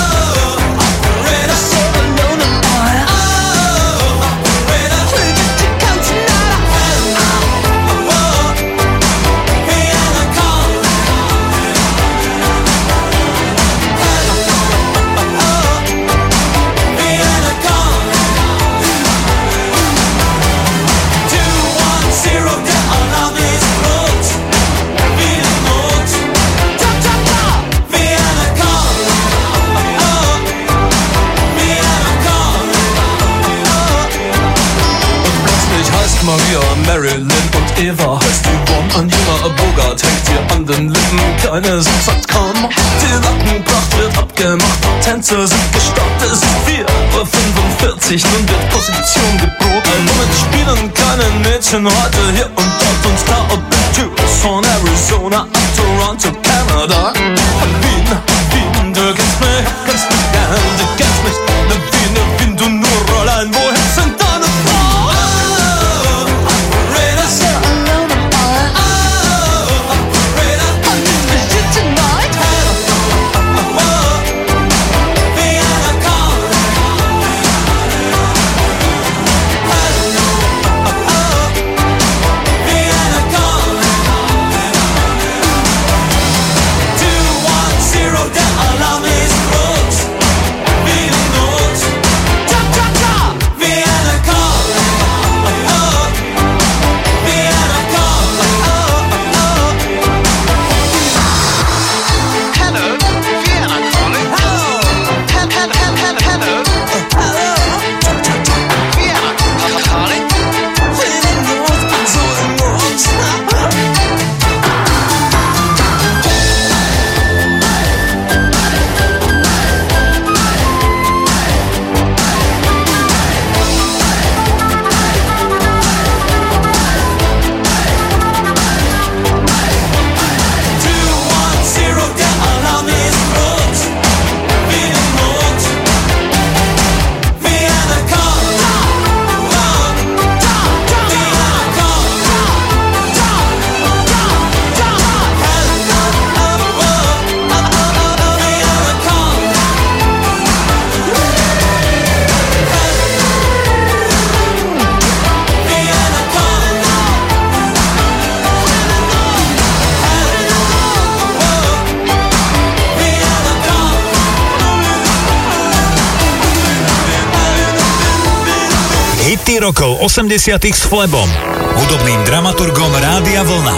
Maria, Marilyn und Eva heißt Yvonne. Ein junger Bogart hängt ihr an den Lippen. Keine sind sagt kaum. Die Lackenpracht wird abgemacht. Tänzer sind gestartet. Es ist 4:45 Uhr. Nun wird Position geboten. Womit spielen keine Mädchen sitzen heute hier und dort uns klar ob die Tür von Arizona ab Toronto, Kanada. Wien, Wien, du kennst mich gern, du kennst mich. Wien, du nur allein, woher sind deine Frauen? Operator, sir. Operator, I need to you tonight. Vienna calling. Vienna calling. 210 der Alarm ist rot. Wiener Not. Ta ta ta. Vienna calling. Vienna calling. Hello, Vienna calling. Hello. Hello. Vienna calling. Der Alarm ist rot. Wiener Not. Vienna calling. Vienna Hity rokov 80 s Flebom, hudobným dramaturgom Rádia Vlna.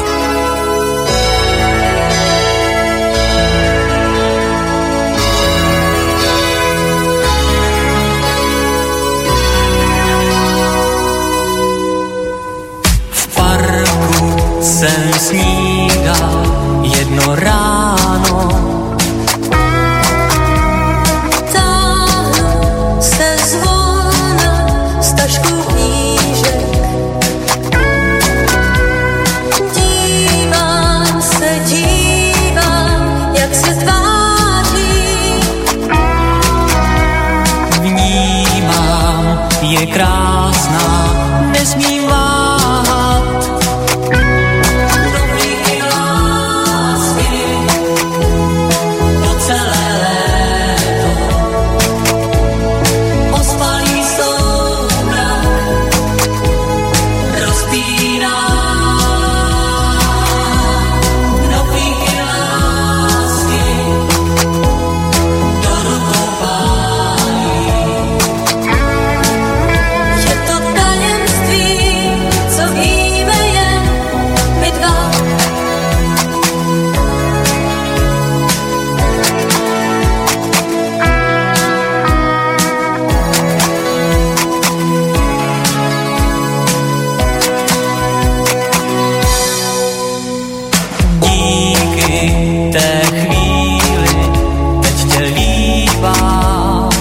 V parku jsem snídal jedno ráno. Táhnu se zvolna z tašku knížek. Dívám, jak se tváří. Vnímám, je krásná, nesmím váhat. Dobrý lásky po celé léto. Ospalý soumrak rozpíná. Dobrý lásky do rukou pálí. Je to tajemství, co víme jen my dva. Díky té chvíli teď tě líbám.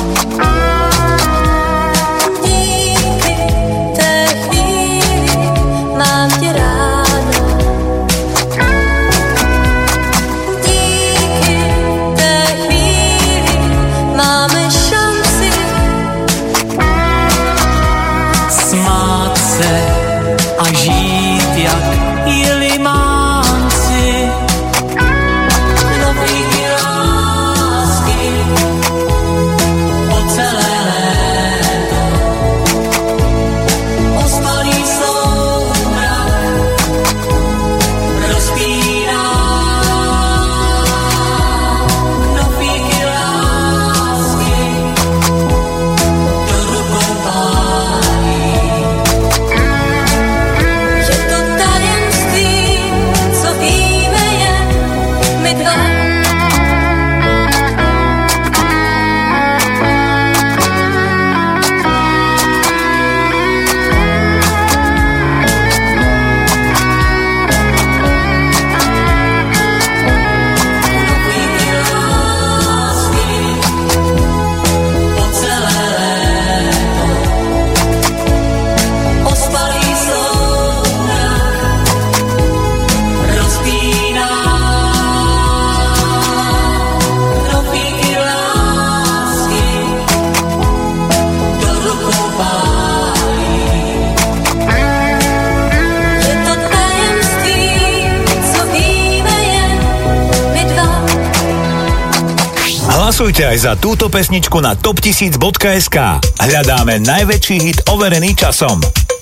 Díky té chvíli mám tě ráda. Díky té chvíli máme šanci Smát se a žít jak jelimánci. dobrý lásky po celé léto. Ospalý soumrak rozpíná. Knoflíky lásky do rukou pálí. Hlasujte aj za túto pesničku na top1000.sk. Hľadáme najväčší hit overený časom.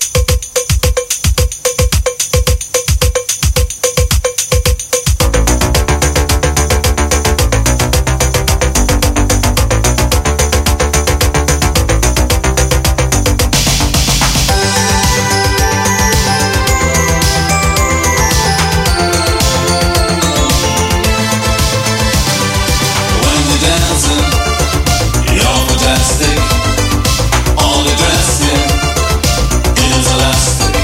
All the dressing is elastic.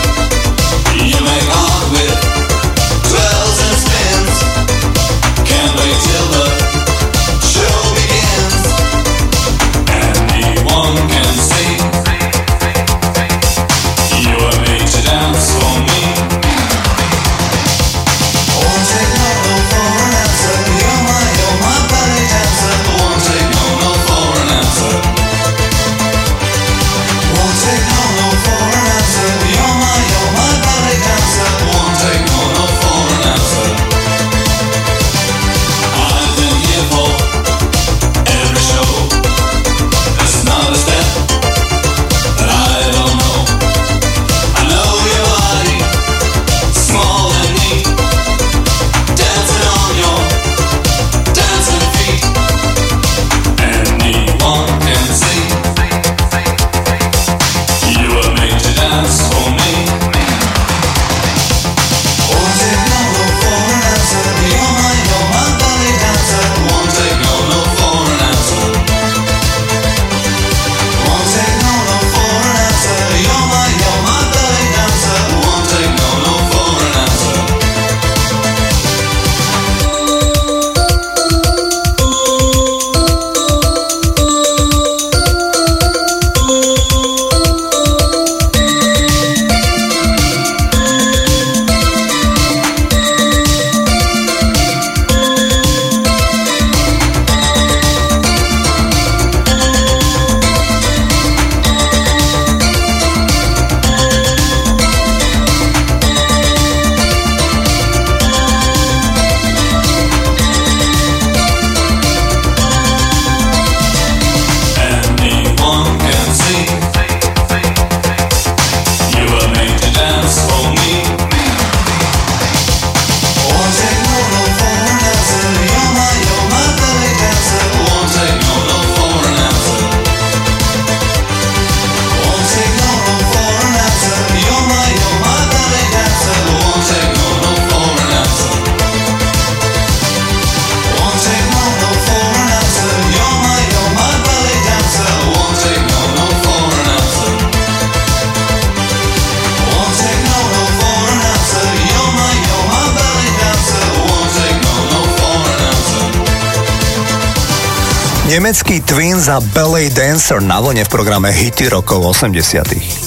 Nemecký Twins a Ballet Dancer na vlne v programe Hity rokov 80.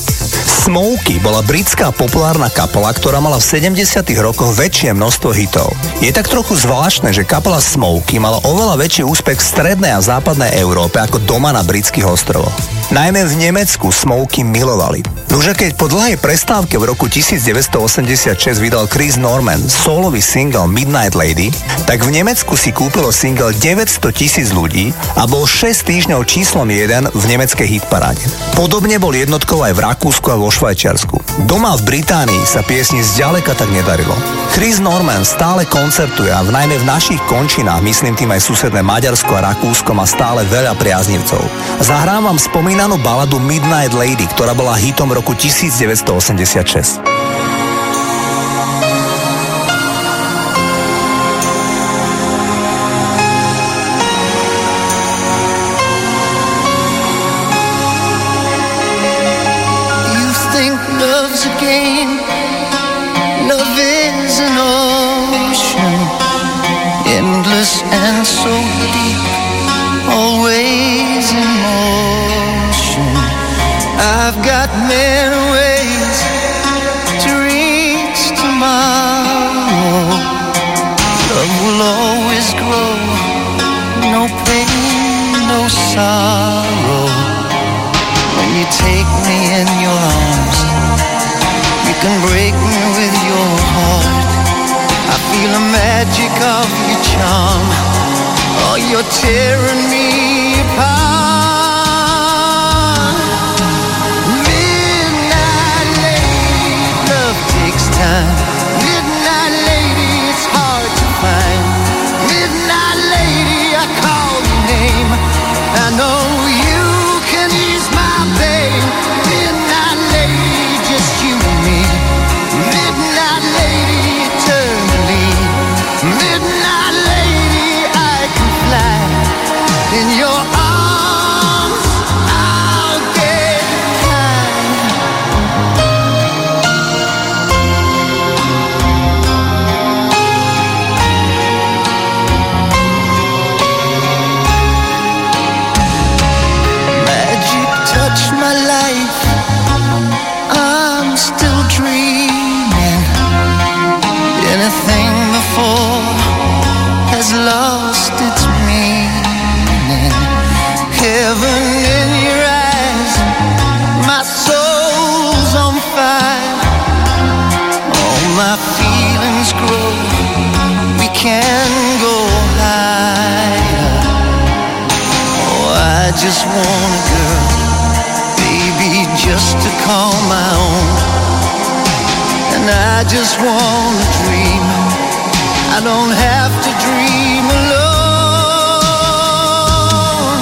Smokey bola britská populárna kapela, ktorá mala v 70. rokoch väčšie množstvo hitov. Je tak trochu zvláštne, že kapela Smokey mala oveľa väčší úspech v strednej a západnej Európe ako doma na britských ostrovoch. Najmä v Nemecku Smokey milovali. Nože keď po dlhej prestávke v roku 1986 vydal Chris Norman solový single Midnight Lady, tak v Nemecku si kúpilo single 900,000 ľudí a bol 6 týždňov číslom 1 v nemeckej hitparáde. Podobne bol jednotkou aj v Rakúsku a vo Švajčiarsku. Doma v Británii sa piesni zďaleka tak nedarilo. Chris Norman stále koncertuje a najmä v našich končinách, myslím tým aj susedné Maďarsko a Rakúsko, má stále veľa priaznivcov. Zahrám vám spomínanú baladu Midnight Lady, ktorá bola hitom v roku 1986. And so deep, always in motion. I've got many ways to reach tomorrow. Love will always grow, no pain, no sorrow. When you take me in your arms, you can break me with your heart. I feel the magic of your charm. Oh, you're tearing me apart. Midnight lady, love takes time. Midnight lady, it's hard to find. Midnight lady, I call your name. I know you can ease my pain. Midnight lady, just you and me. Midnight lady, eternally. Midnight lady, I can fly. In your arms, I'll get high. Magic touched my life. I'm still dreaming. Anything before has lost its meaning. Heaven in your eyes, my soul's on fire. All my feelings grow, we can go higher. Oh, I just want a girl, baby, just to call my own. And I just want to dream, I don't have to dream alone.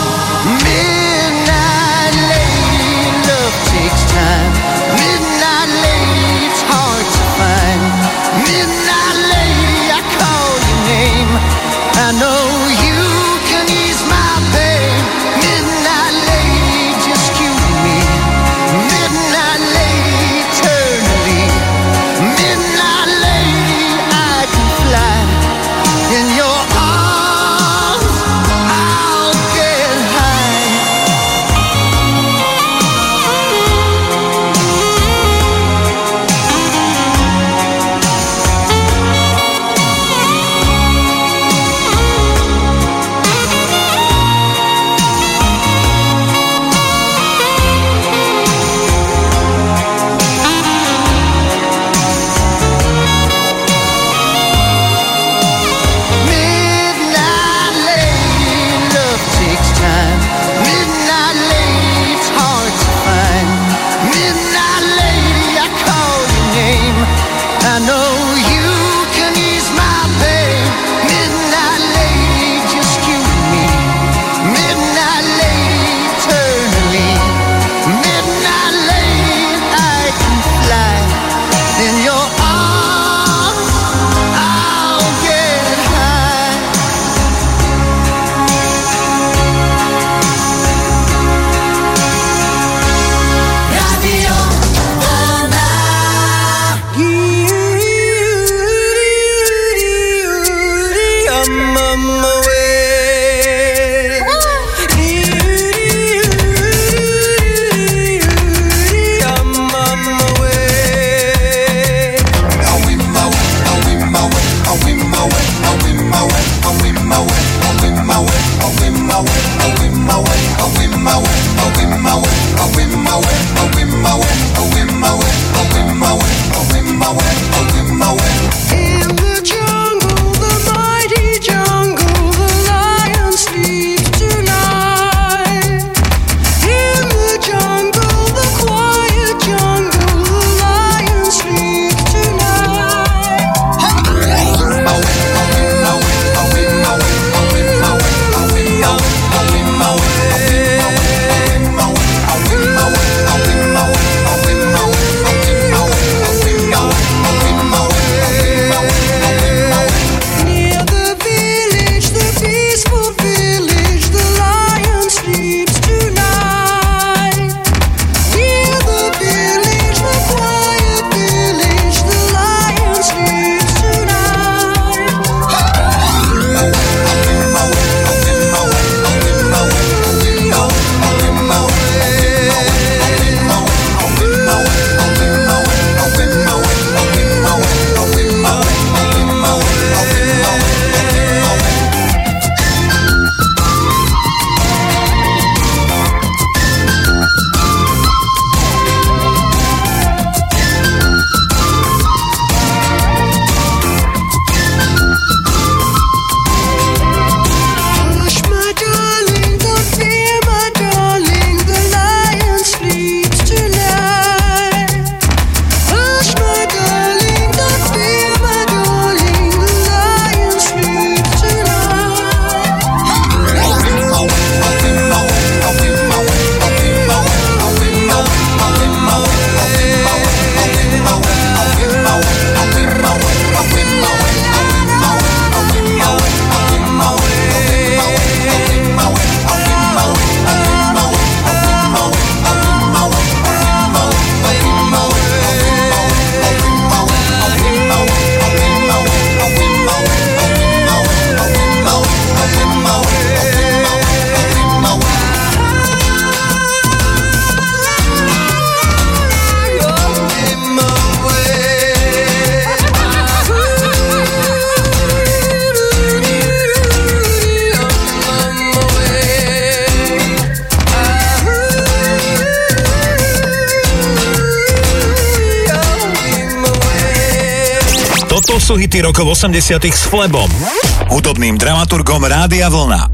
Midnight lady, love takes time. Midnight lady, it's hard to find. Midnight lady, I call your name. I know you can ease my pain. Midnight lady, just you and me. Midnight lady, eternally. Midnight lady, I can fly in your arms. sú hity rokov 80 s Flebom, hudobným dramaturgom Rádia Vlna.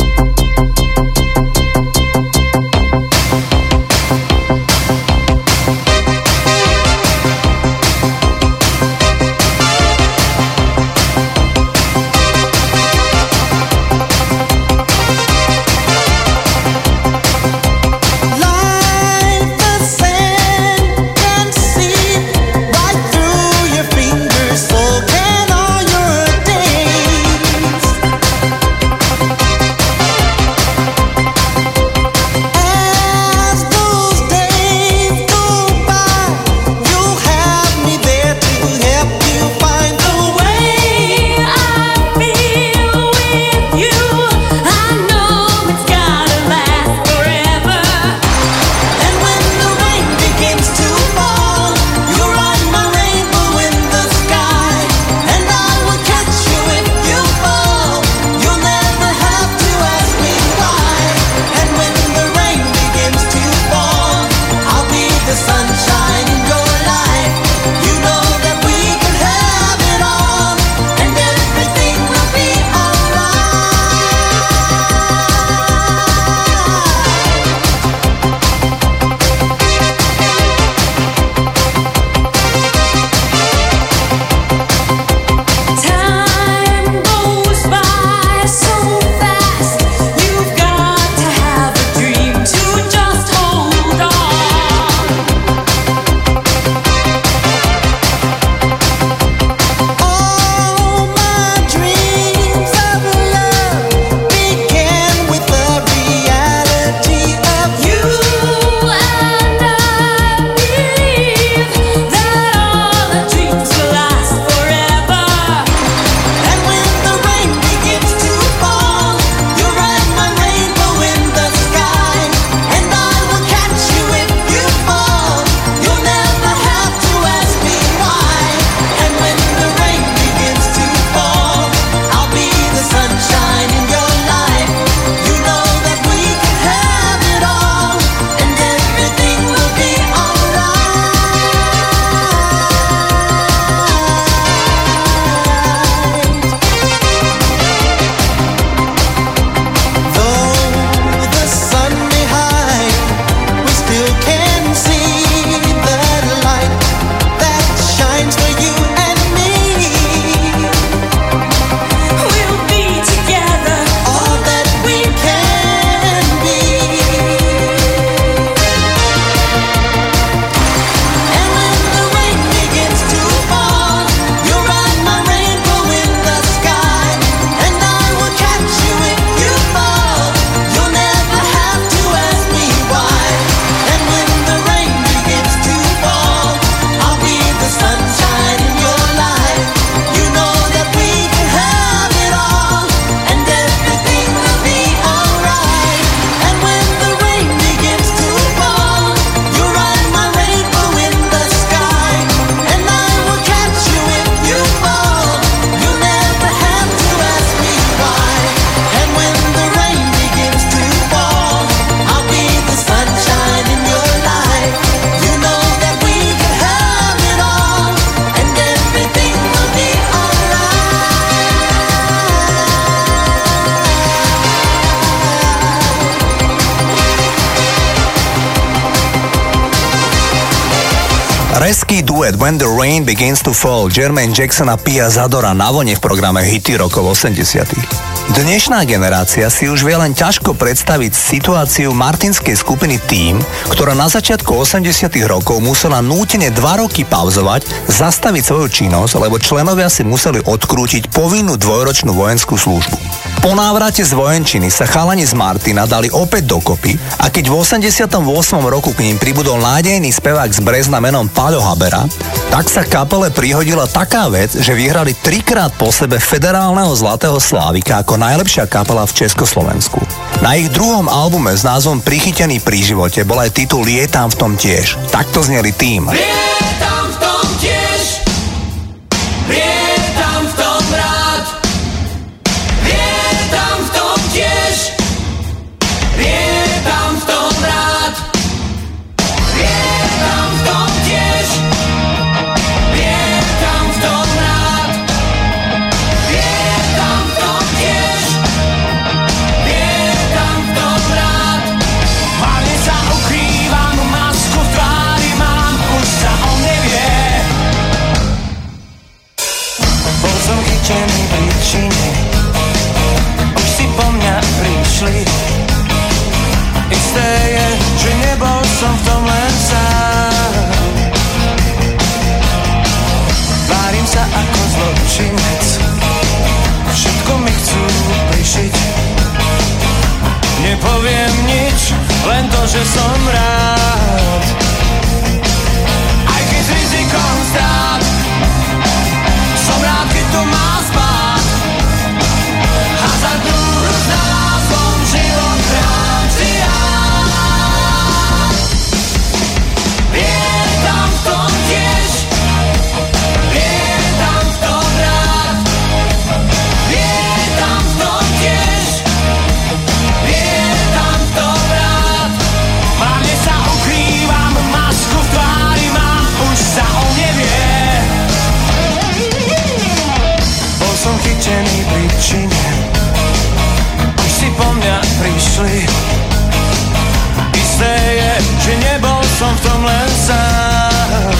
Reský duet When the Rain Begins to Fall Jermaine Jackson a Pia Zadora na vlne v programe Hity rokov 80. Dnešná generácia si už vie len ťažko predstaviť situáciu martinskej skupiny Team, ktorá na začiatku 80 rokov musela nútene 2 roky pauzovať, zastaviť svoju činnosť, lebo členovia si museli odkrútiť povinnú 2-ročnú vojenskú službu. Po návrate z vojenčiny sa chalani z Martina dali opäť dokopy a keď v 88. roku k ním pribudol nádejný spevák z Brezna menom Paľo Habera, tak sa kapele prihodila taká vec, že vyhrali 3-krát po sebe federálneho Zlatého Slávika ako najlepšia kapela v Československu. Na ich druhom albume s názvom Prichytený pri živote bol aj titul Lietam v tom tiež. Takto zneli Tým. Lietam v tom tiež, lietam v tom rád, lietam v tom tiež, lietam v tom rád, lietam v tom tiež, lietam v tom rád. že som rád. Aj keď s rizikom strát, som rád, keď to má spát. Hazardnú hru s názvom život hrám si ja. Vietam v tom tiež, vietam v tom rád. Vietam v tom tiež, vietam v tom rád. Márne sa ukrývam, masku v tvári mám, už sa o nevie. Bol som chytený pri čine, už si po mňa prišli. Isté je, že nebol som v tom len sám.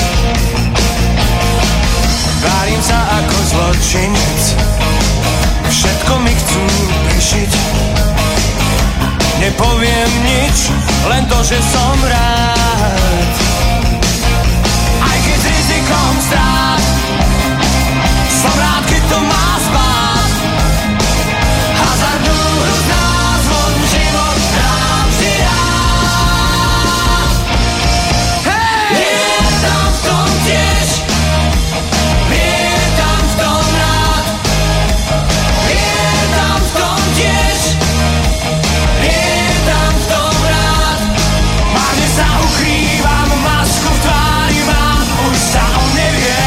Várim sa ako zločinec, všetko mi chcú prišiť. Nepoviem nič, len to, že som rád. Aj keď s rizikom strát, som rád, keď to má spát. Hazardnú hru s názvom život hrám si rád. Vietam v tom tiež, vietam v tom rád. Vietam v tom tiež, vietam v tom rád. Márne sa ukrývam, masku v tvári mám, už sa o nevie.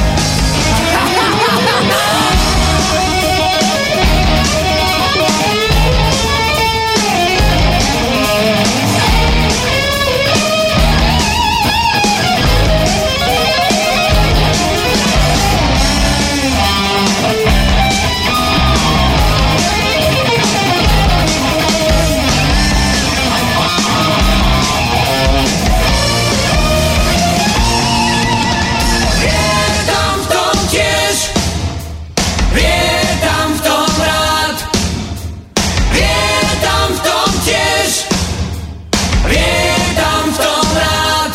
Vietam v tom tiež, vietam v tom rád. Vietam v tom tiež, vietam v tom rád.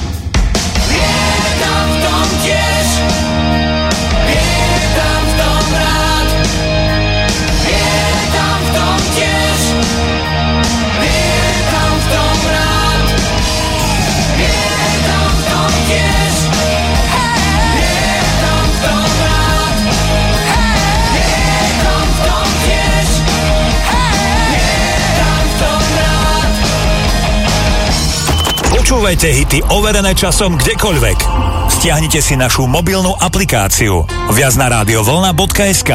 Vietam v tom tiež, vietam v tom rád. Vietam v tom tiež, vietam v tom rád. Vietam v tom tiež, vietam v tom rád. Vietam v tom tiež, vietam v tom rád. Počúvajte hity overené časom kdekoľvek. Stiahnite si našu mobilnú aplikáciu viac na radiovlna.sk.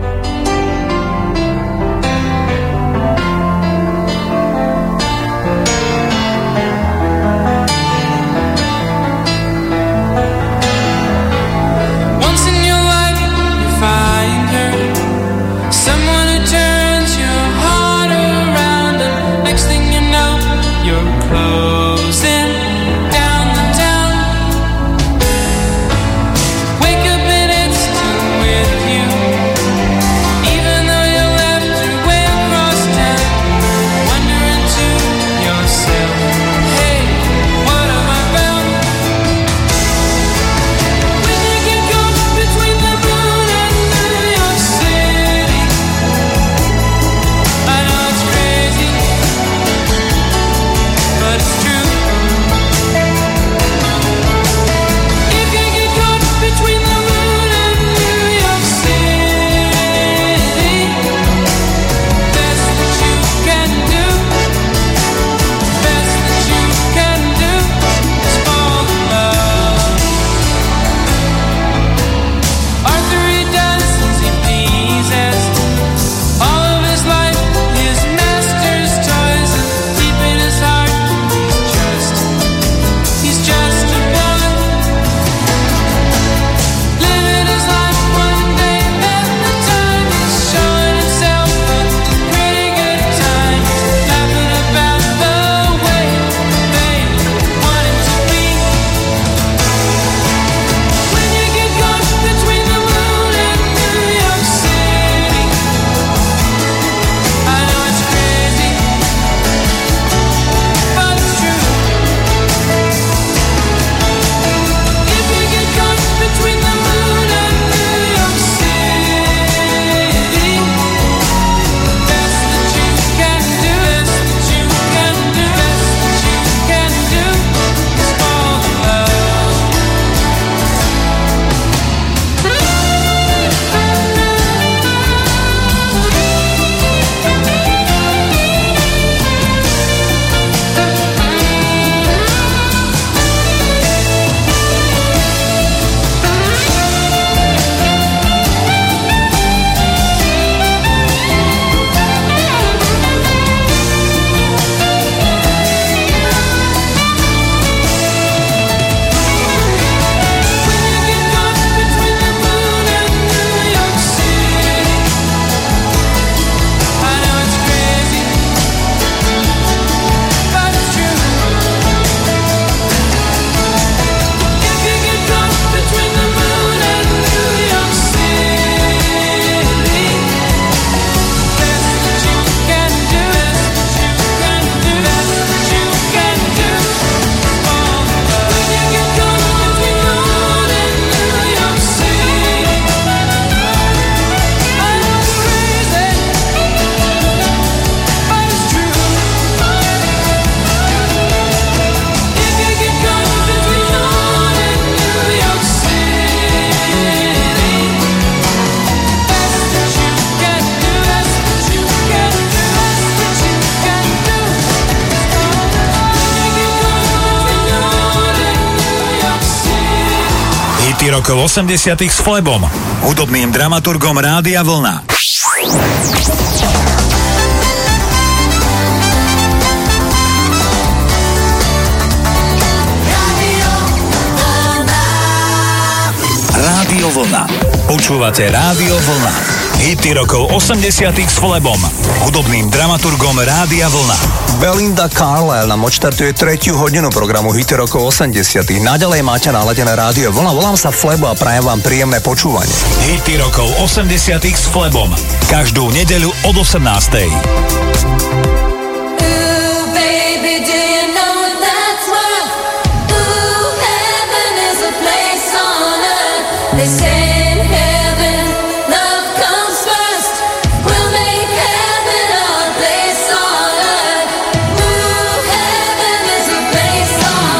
Once in your life you find her, someone who turns your heart around, and next thing you know you're closing down the town. Wake up and it's still with you. Hity rokov 80 s Flebom, hudobným dramaturgom Rádia Vlna. Rádio Vlna. Počúvate Rádio Vlna. Hity rokov 80 s Flebom, hudobným dramaturgom Rádia Vlna. Belinda Carlisle nám odštartuje 3. hodinu programu Hity rokov 80. Naďalej máte naladené Rádio Vlna. Volám sa Flebo a prajem vám príjemné počúvanie. Hity rokov 80 s Flebom. Každú nedeľu od 18. They say in heaven, love comes first. We'll make heaven our place on earth. Ooh, heaven is a place on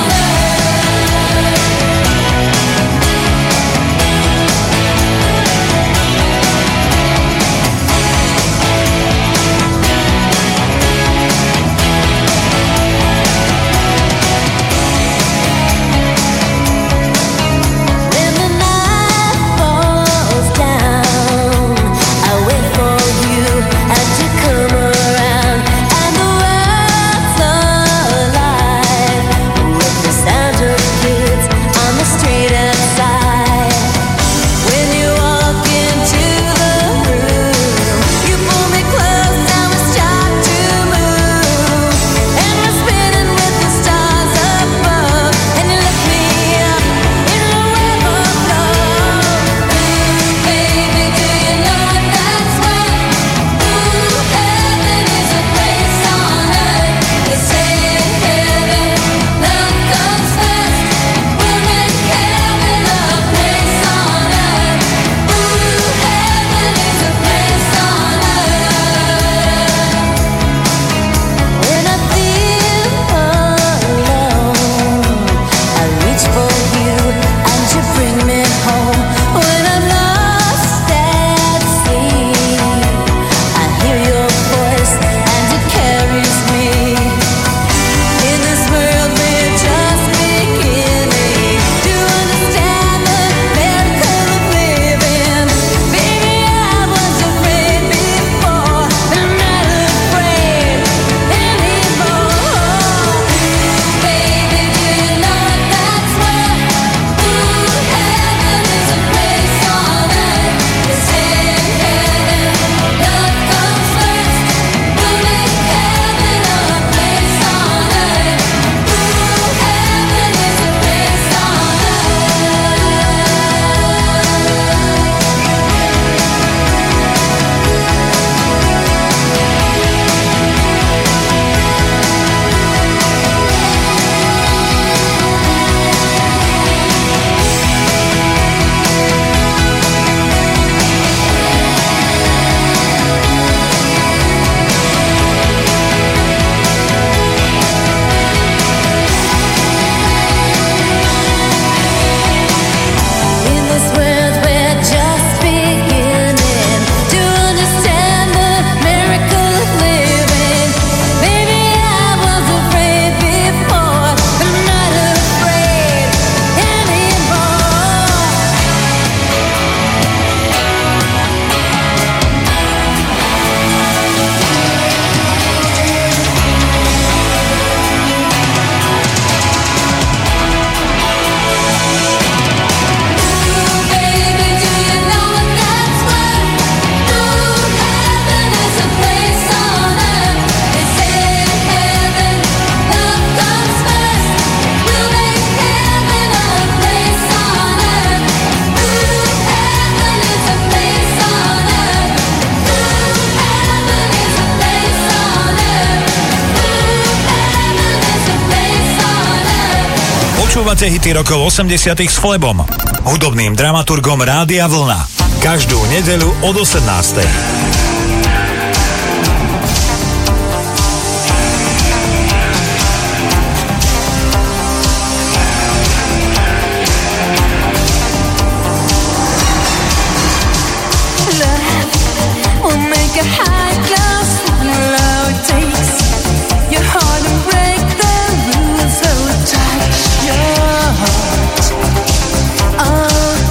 Počúvate hity rokov 80 s Flebom, hudobným dramaturgom Rádia Vlna. Každú nedeľu od 18. Oh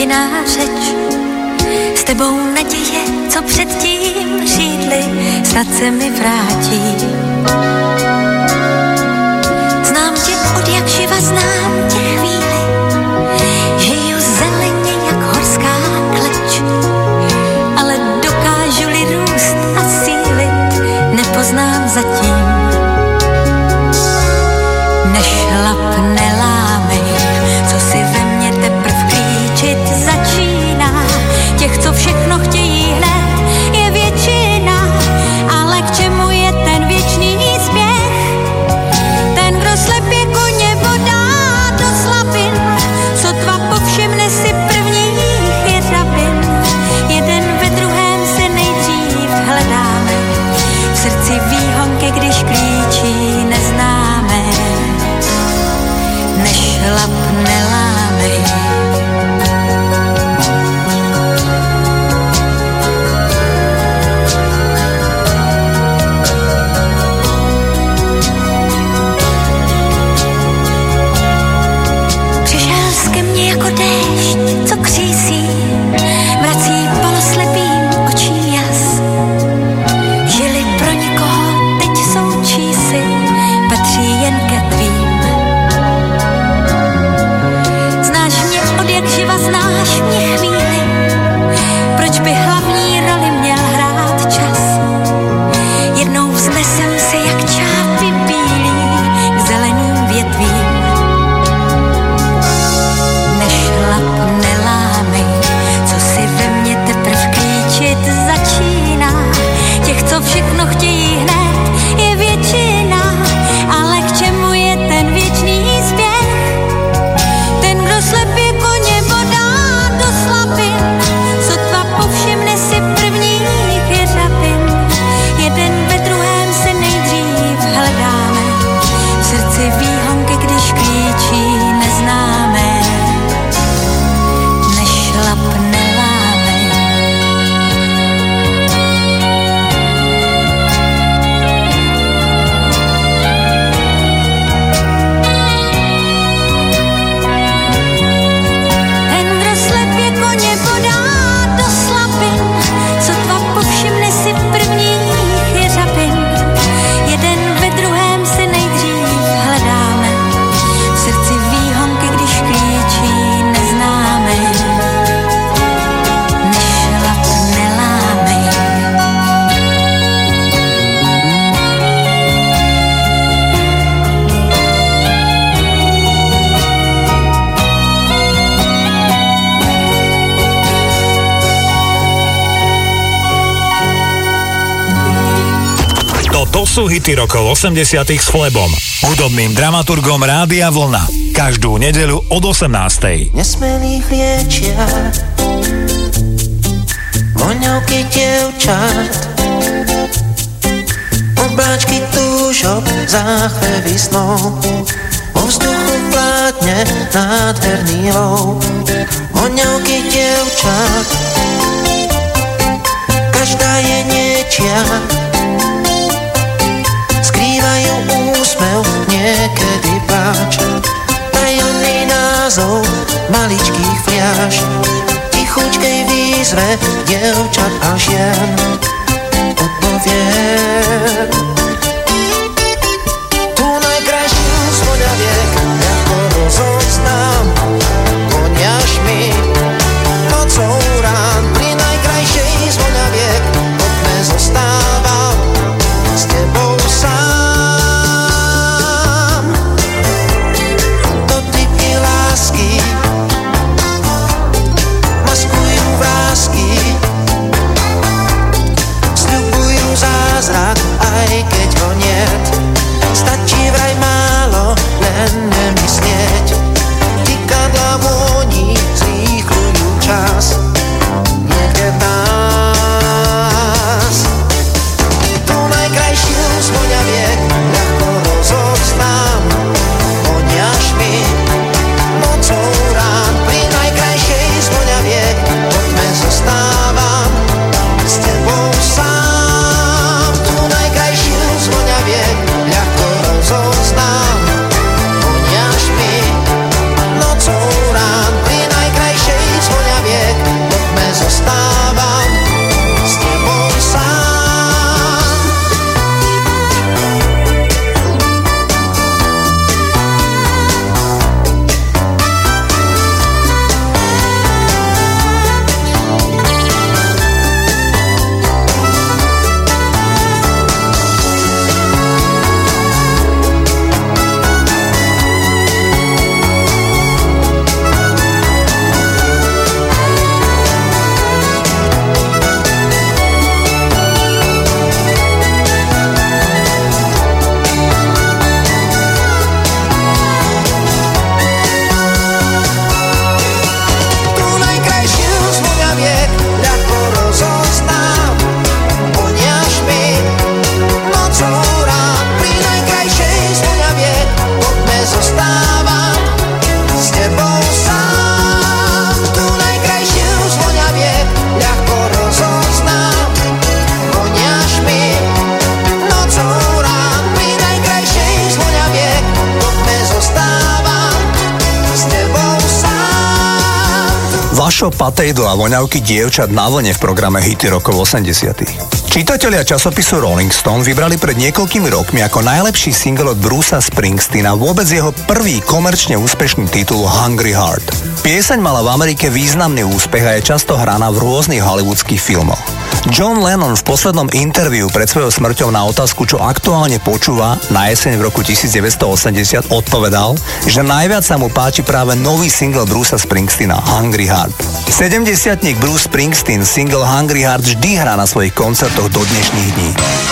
jiná řeč. S tebou naděje, co předtím šídly, snad se mi vrátí. Znám tě od jak živa, znám tě chvíli, žiju zeleně jak horská kleč, ale dokážu-li růst a sílit, nepoznám zatím. Nešlap, nelámej, co si ve mně teprv klíčit začíná. Těch, co všechno chtějí hned, je většina, ale k čemu je ten věčný směch? Ten, kdo slepě koně vodá do slabin, sotva povšimne si prvních jedabin. Jeden ve druhém se nejdřív hledáme, v srdci výhonky, když klíčí neznáme. Nešlap, nelámej. Přišel jsi ke mně jako déšť, co křísí, vrací poloslepým očím jas. Žili pro nikoho, teď jsou čísi, patří jen ke tvým. Znáš mě od jak živa, znáš mě chvíli, proč by hlavní roli měl hrát čas? Jednou vznesem se jak čápy bílý k zeleným větvím. Nešlap, nelámej, co si ve mně teprv klíčit začíná. Těch, co všechno chtějí hned, je většina, ale k čemu je ten věčný spěch? Ten, kdo slepě koně vodá do slabin, sotva povšimne si prvních jeřabin. Jeden ve druhém se nejdřív hledáme, v srdci výhonky, když klíčí neznáme. Nešlap, nelámej. Ten, kdo slepě koně vodá do slabin, sotva povšimne si prvních jeřabin. Jeden ve druhém se nejdřív hledáme, v srdci výhonky, když klíčí neznáme. Nešlap, nelámej. To sú hity rokov 80 s Flebom, hudobným dramaturgom Rádia Vlna. Každú nedeľu od 18. Nesmelých liečia voňavky dievčat, obláčky túžob, záchvevy snov, vo vzduchu vládne nádherný lov. Voňavky dievčat, každá je niečia, skrývajú úsmev, niekedy pláč. Tajomný názov maličkých fľaš, tichučkej výzve dievčat a žien odpoviem. Tu najkrajšiu z voňaviek, ako rozoznám, koniaš mi nocou rán. Pri najkrajšej z voňaviek od mne zostávam s tebou sám. Dotyky lásky maskujú vrásky, sľubujú zázrak, aj keď Vašo Patejdl a voňavky dievčat na vlne v programe Hity rokov 80. Čitatelia časopisu Rolling Stone vybrali pred niekoľkými rokmi ako najlepší single od Brucea Springsteena vôbec jeho prvý komerčne úspešný titul Hungry Heart. Pieseň mala v Amerike významný úspech a je často hraná v rôznych hollywoodských filmoch. John Lennon v poslednom interviu pred svojou smrťou na otázku, čo aktuálne počúva na jeseň v roku 1980 odpovedal, že najviac sa mu páči práve nový single Brucea Springsteena Hungry Heart. 70-tník Bruce Springsteen single Hungry Heart vždy hrá na svojich koncertoch do dnešných dní.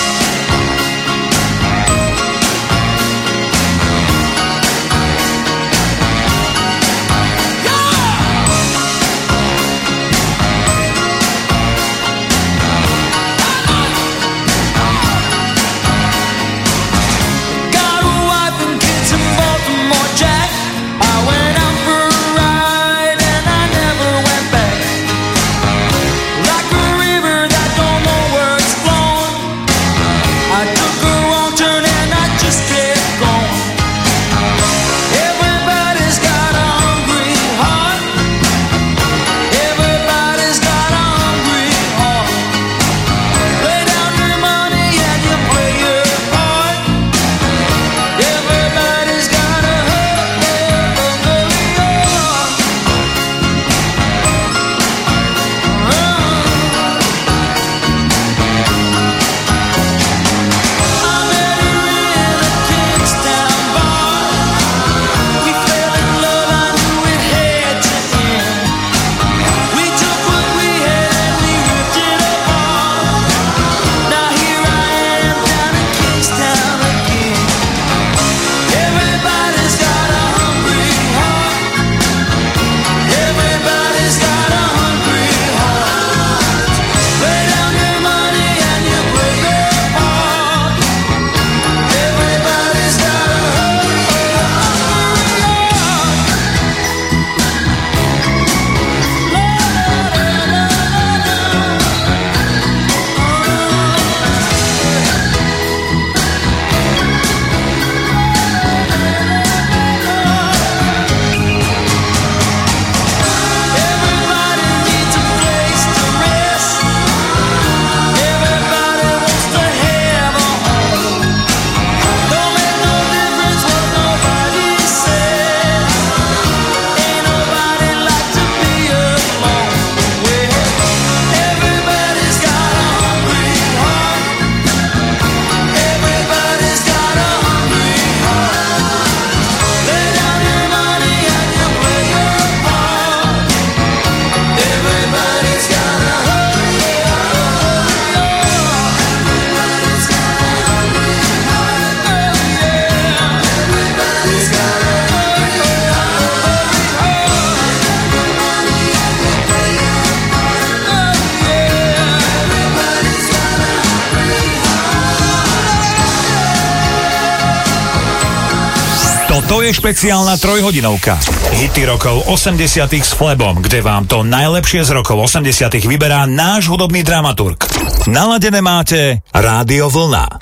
To je špeciálna trojhodinovka. Hity rokov 80 s Flebom, kde vám to najlepšie z rokov 80 vyberá náš hudobný dramaturg. Naladené máte Rádio Vlna.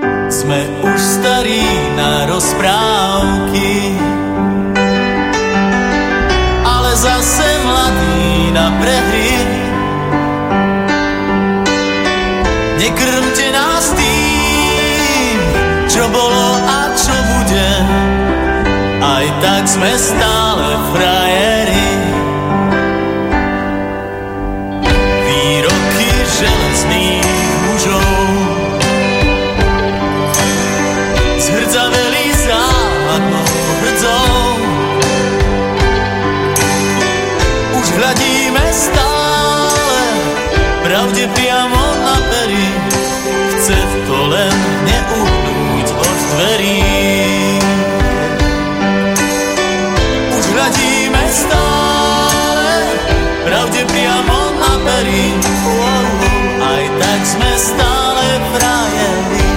Sme už starí na rozprávky, ale zase mladí na prehry. Nekrmte nás tým, čo bolo a čo bude. Aj tak sme stále frajeri. Výroky železných mužov zhrdzaveli záhadnou hrdzou. Už hľadíme stále pravde priamo na pery. Chce to len neuhnúť od dverí. Hľadíme stále pravde priamo na pery. Aj tak sme stále frajeri.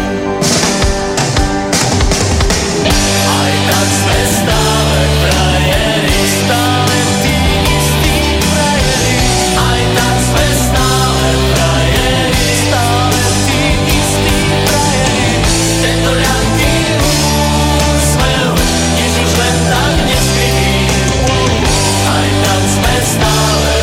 Aj tak sme stále frajeri. Stále tí istí frajeri. Aj tak sme stále frajeri. Stále tí istí frajeri. Tento ľahký úsmev, než už len tak neskrytý. Aj tak sme stále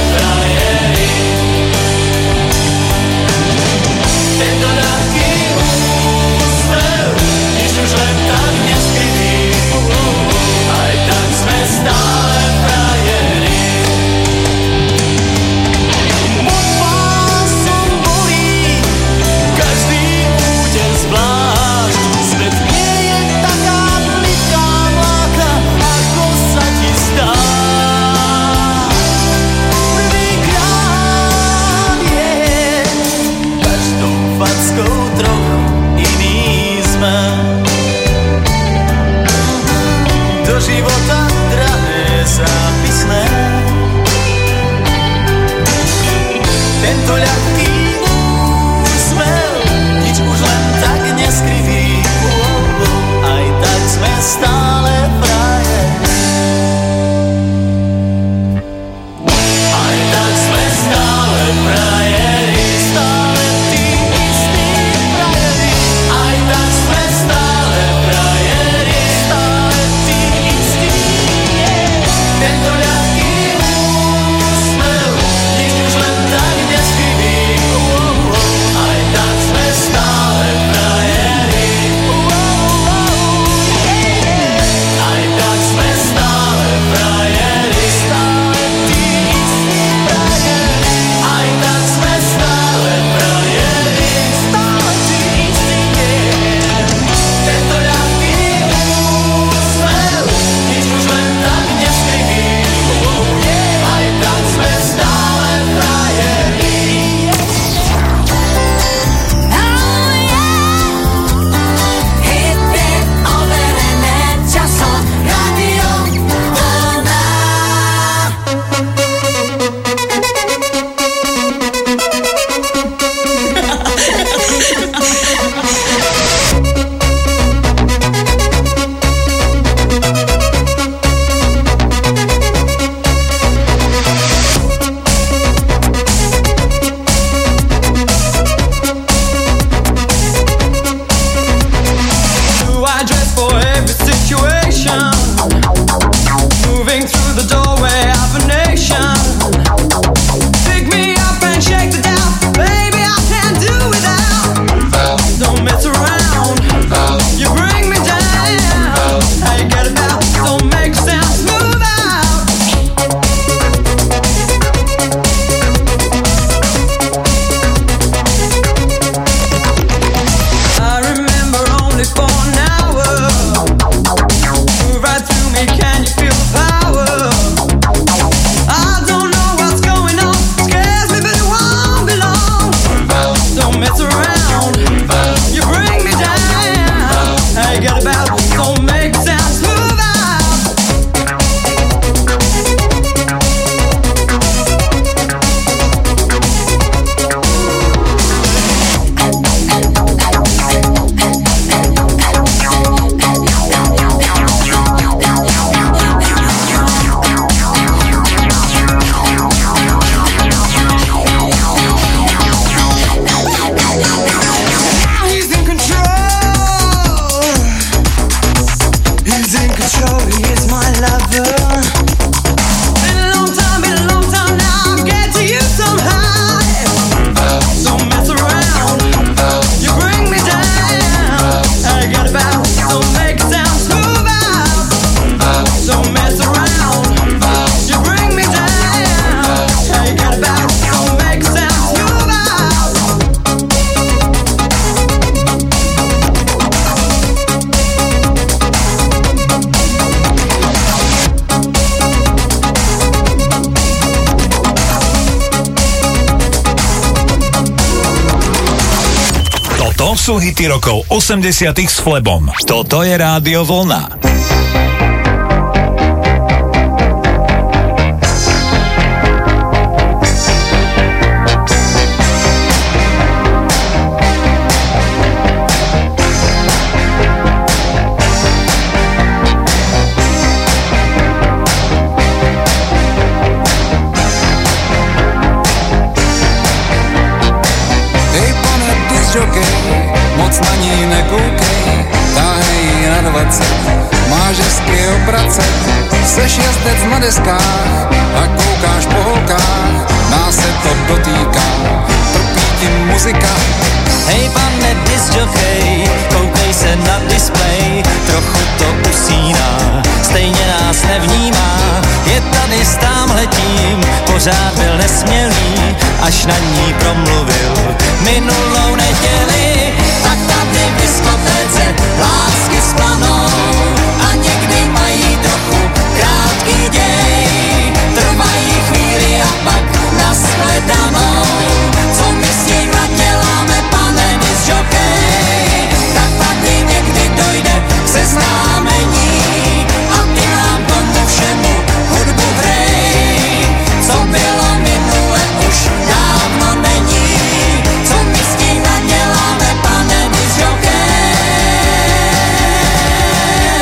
sú hity rokov 80 s Flebom. Toto je Rádio Vlna. Moc na ní nekoukej, táhej na 20, máš hezky obrace, seš jezdec na deskách a koukáš po holkách, nás se to dotýká, trpí ti muzika. Hej pane disjokej, koukej se na displej, trochu to usíná, stejně nás nevnímá, je tady s támhletím, pořád byl nesmělý, až na ní promluvil minulou neděli. Tak tady v diskotéce lásky splanou a někdy mají trochu krátký děj, trvají chvíli a pak nashledanou. Co my s nima děláme, pane disjokej? Tak tady někdy dojde k seznámení a ty nám tomu všemu hudbu hrej. Co bylo minule, už dávno není. Co my s nima děláme, pane disjokej?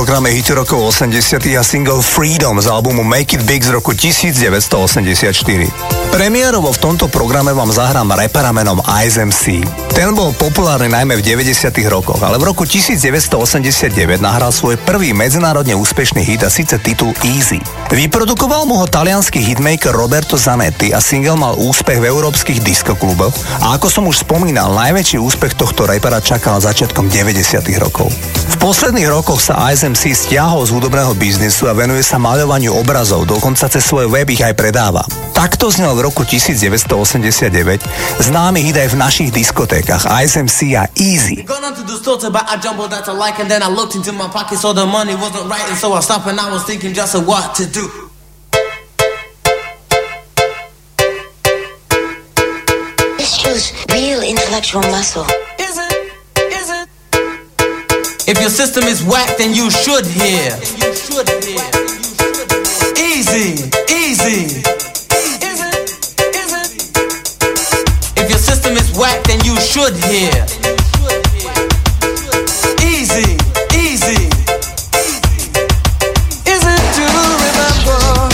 programe hity rokov 80 a single Freedom z albumu Make It Big z roku 1984. Premiérovo v tomto programe vám zahrám rapera menom Ice MC. Ten bol populárny najmä v 90 rokoch, ale v roku 1989 nahral svoj prvý medzinárodne úspešný hit a síce titul Easy. Vyprodukoval mu ho taliansky hitmaker Roberto Zanetti a single mal úspech v európskych diskokluboch a ako som už spomínal, najväčší úspech tohto rapera čakal začiatkom 90 rokov. V posledných rokoch sa Ice MC stiahol z hudobného biznisu a venuje sa maľovaniu obrazov, dokonca cez svoj web ich aj predáva. Takto znel v roku 1989 známy hit aj v našich diskotékach Ice MC a Easy. Gone onto the store to buy a jumbo that I like, and then I looked into my pocket, so the money wasn't right, and so I stopped and I was thinking just of what to do. This shows real intellectual muscle. Is it? If your system is whack, then you should hear. Easy, easy. If your system is whack, then you should hear. Easy, easy. Is it to remember?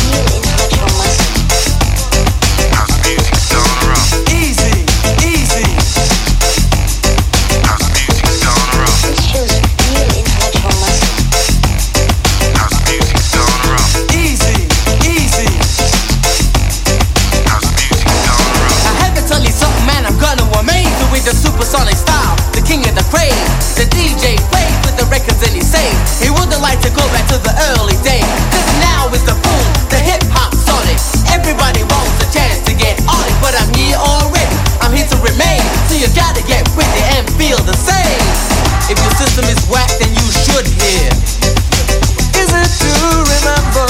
Easy, easy. Easy, easy. I had to tell you something, man, I'm gonna amaze you with the supersonic style, the king of the craze. The DJ plays with the records and he says he wouldn't like to go back to the early days, cause now is the boom, the hip-hop sonic. Everybody wants a chance to get on it, but I'm here already, I'm here to remain. So you gotta get with it and feel the same. If your system is whack, then you should hear. Is it to remember?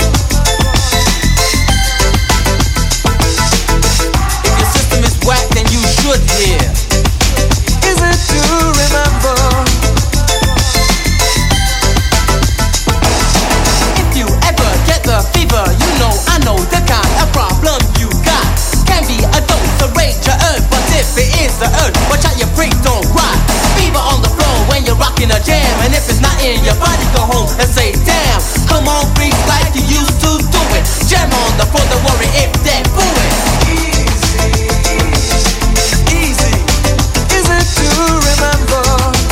If your system is whack, then you should hear. Is it to remember? If you ever get the fever, you know I know the kind of problem you got. Can be a dose of rage or urge, but if it is the urge, watch out your freak, don't cry. Fever on the floor when you're rocking a jam, and if it's not in your body, go home and say damn. Come on, freak, like you used to do it. Jam on the floor, don't worry if they're booing. Easy, is it to remember?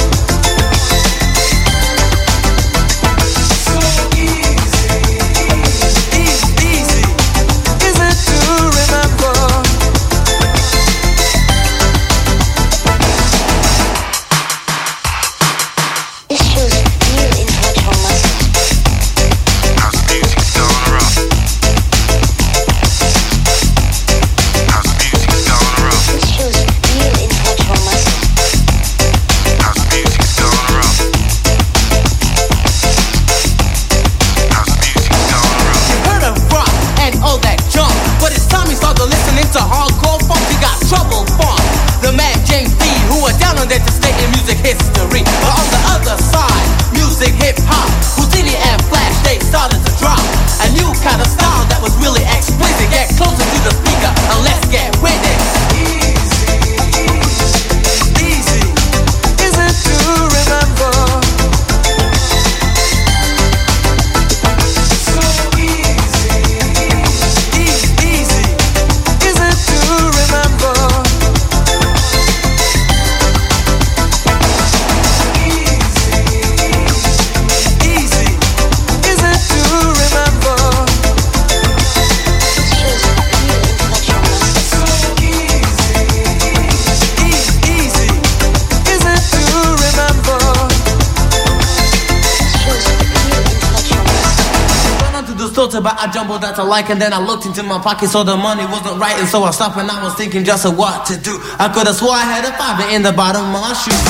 So easy, easy, is it to remember? This shows real intellectual muscle. This shows real intellectual muscle. You heard of rock and all that junk, but it's time you start to listening to hardcore funk. You got Trouble Funk, the man James B, who are down on there to stay in music history. But on the other side, music hip hop, Houdini and Flash, they started to drop a new kind of style that was really explicit. Get closer to the speaker and let's get with it. Easy, is it to remember? So easy, easy, is it to remember? Easy, is it to remember? This shows real intellectual muscle. So easy, is it to remember? This shows real intellectual muscle. Went on to the store to buy a jumbo that I like, and then I looked into my pocket, so the money wasn't right, and so I stopped and I was thinking just of what to do. I could have swore I had a fiver in the bottom of my shoe.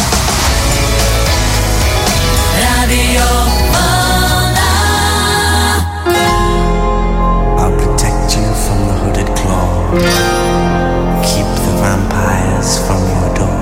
Radio Vlna. I'll protect you from the hooded claw. Keep the vampires from your door.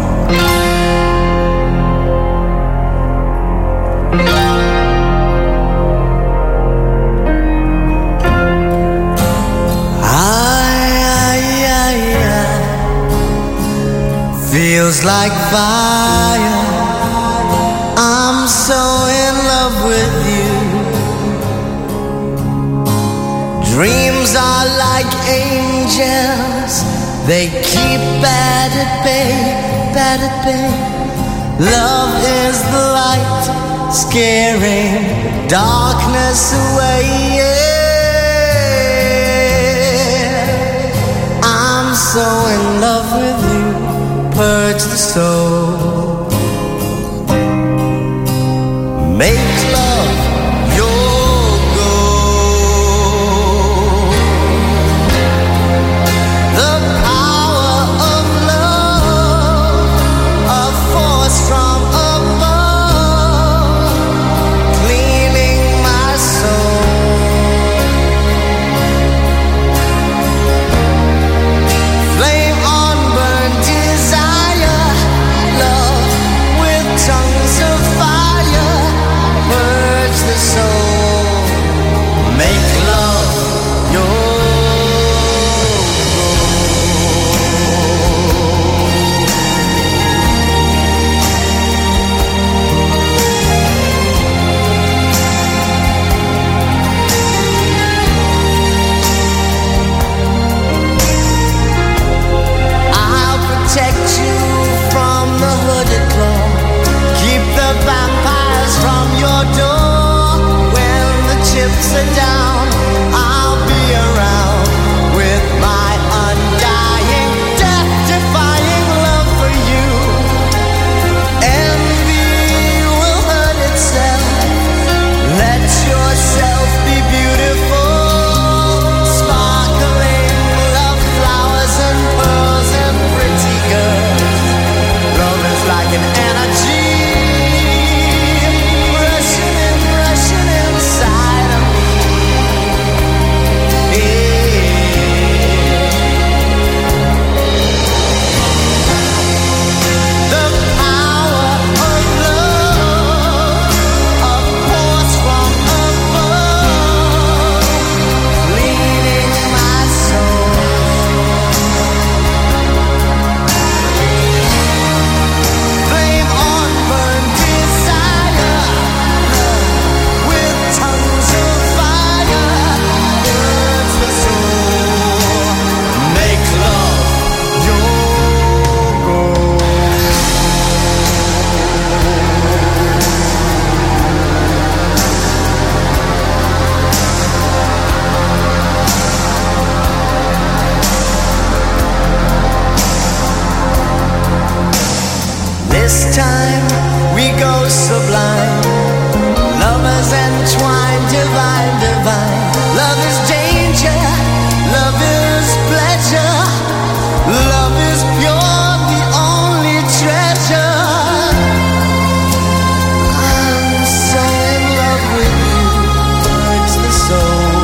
Feels like fire. I'm so in love with you. like angels, they keep bad at bay, bad at bay. Love is the light, scaring darkness away. Yeah. I'm so in love with you, purge the soul. Make love your goal. The power of love, a force from above, cleaning my soul. Flame on burn desire, love with tongues of fire, purge the soul. Make love your I'll protect you from the hooded claw, keep the vampires from your door. When the chips are down, I'll be around with my undying, death-defying love for you. Envy will hurt itself. Let yourself be beautiful, sparkling love flowers and pearls and pretty girls. Love is like an energy rushing inside of me. The power of love, a force from above, leading my soul. Flame on burn desire, with tongues of fire, burns the soul. Make love your goal. This time we go sublime, lovers entwined, divine, divine. Love is danger, love is pleasure, love is pure, the only treasure. I'm so in love with you, purge the soul.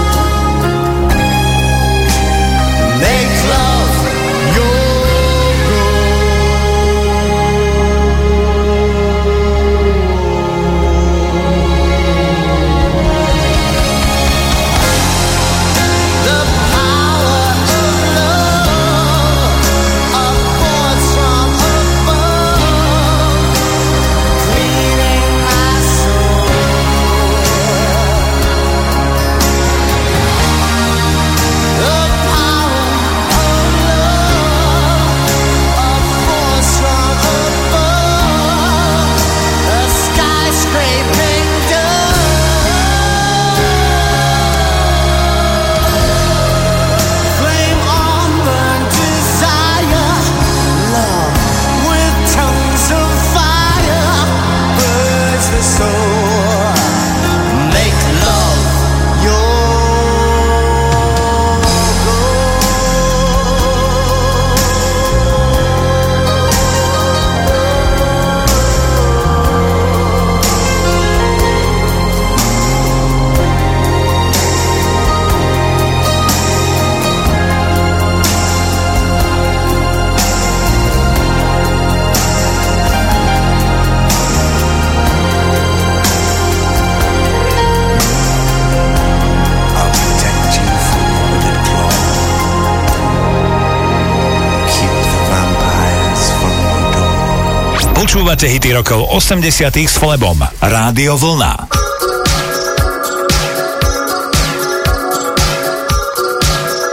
Make love your the power of love, a force from above, cleaning my soul. The power of love, a force from above, a skyscraping dove. Flame on burn desire, love with tongues of fire, purge the soul. Make love your I'll protect you from the hooded claw, keep the vampires from your door. Počúvate hity rokov 80 s Flebom. Rádio Vlna.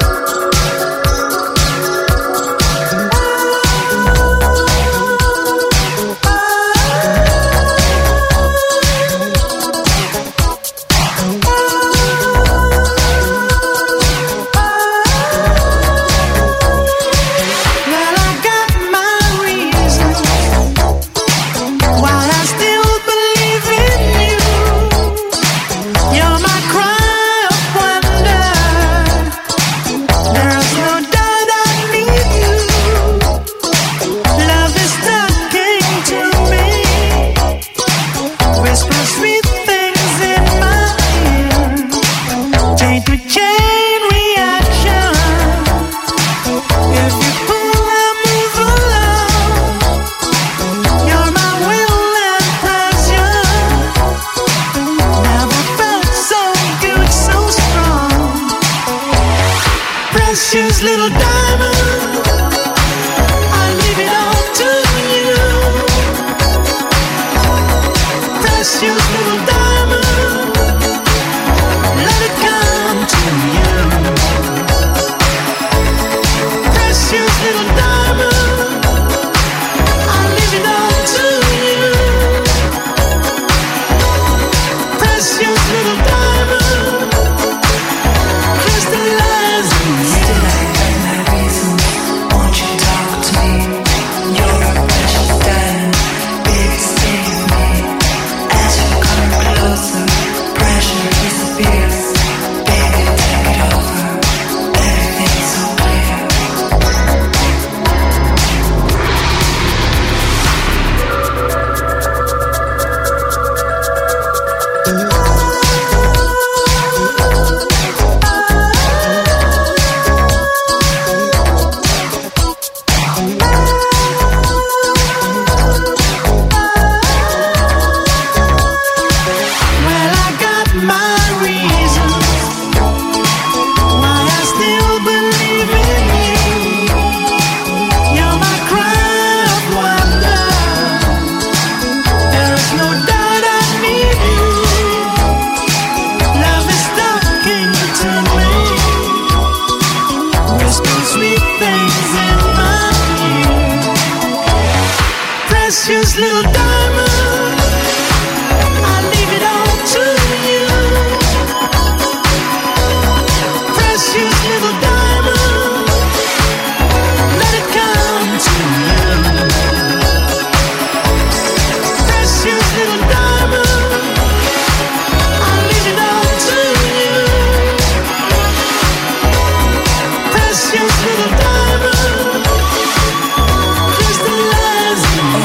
Precious little diamond, I leave it all to you. Precious little diamond, let it come to you. Precious little diamond, I leave it all to you. Precious little diamond, crystallize in you. Precious little diamond, I leave it all to you. Precious little diamond, let it come to you. Precious little diamond, I leave it all to you. Precious little diamond, crystallize in you.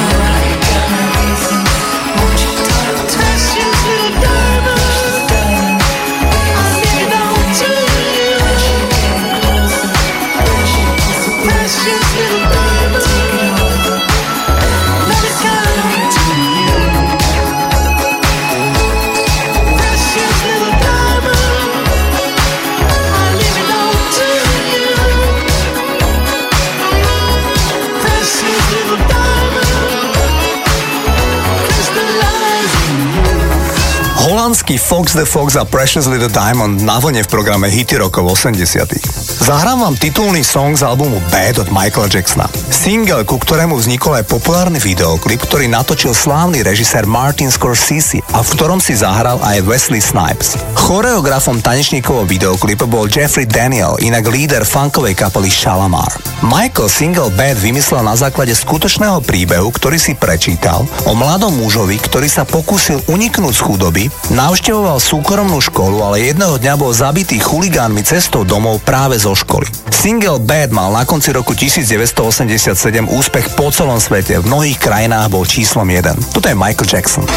Holandský Fox the Fox a Precious Little Diamond na vlne v programe Hity rokov 80. Zahrám vám titulný song z albumu Bad od Michaela Jacksona. Single, ku ktorému vznikol aj populárny videoklip, ktorý natočil slávny režisér Martin Scorsese a v ktorom si zahral aj Wesley Snipes. Choreografom tanečníkovho videoklipu bol Jeffrey Daniel, inak líder funkovej kapely Shalamar. Michael single Bad vymyslel na základe skutočného príbehu, ktorý si prečítal o mladom mužovi, ktorý sa pokúsil uniknúť z chudoby, navštevoval súkromnú školu, ale jedného dňa bol zabitý chuligánmi cestou domov práve zo školy. Single Bad mal na konci roku 1987 úspech po celom svete, v mnohých krajinách bol číslom 1. Toto je Michael Jackson.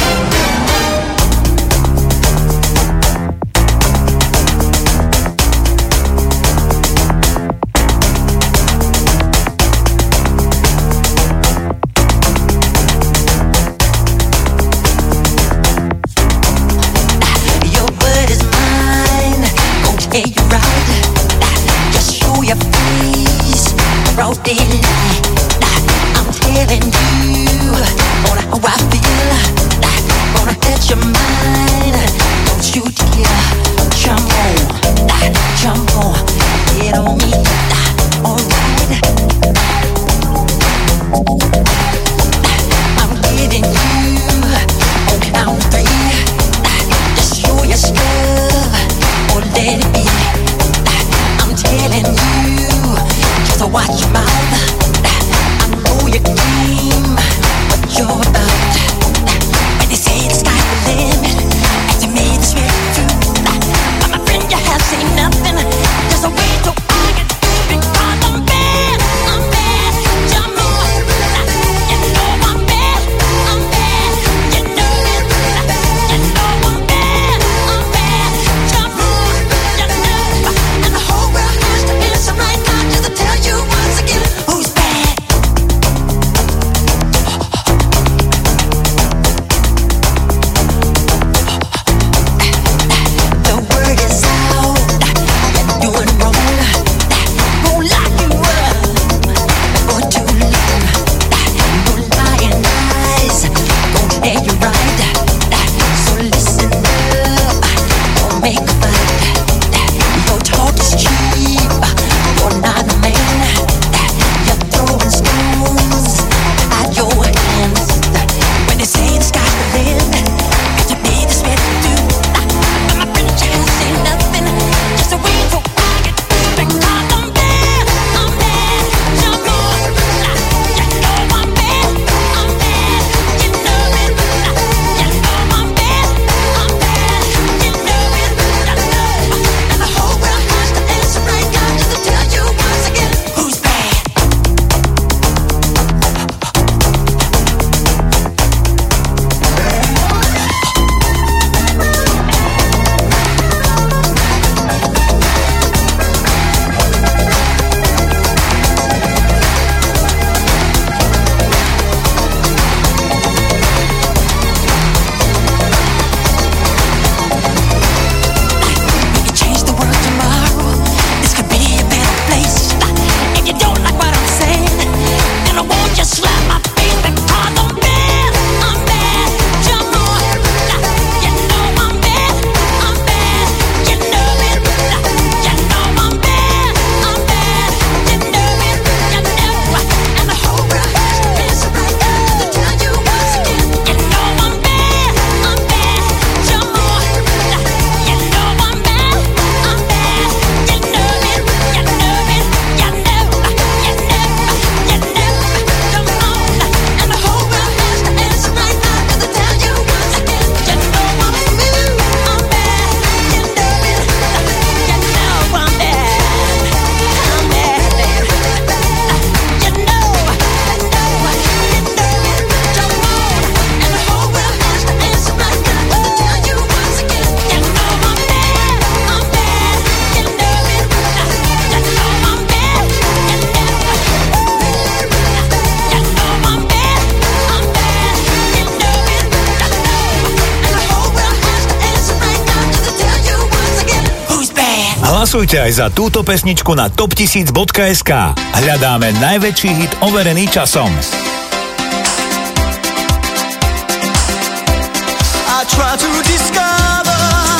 I'm telling you on how I feel. Gonna touch your mind. Don't you dare jump on, get on me. Alright, I'm getting you on count 3. Just show your stuff or let it be. I'm telling you, just watch your mouth. You dream what you're about. When they say the sky's the limit, and you made this way through. But my friend, you have seen nothing. There's a way to argue because I'm bad. Jump on. You know I'm bad. You know it. You know I'm bad. Jump on. You know. And the whole world has to answer right now just to tell you once again. Hlasujte aj za túto pesničku na top1000.sk. Hľadáme najväčší hit overený časom. I try to discover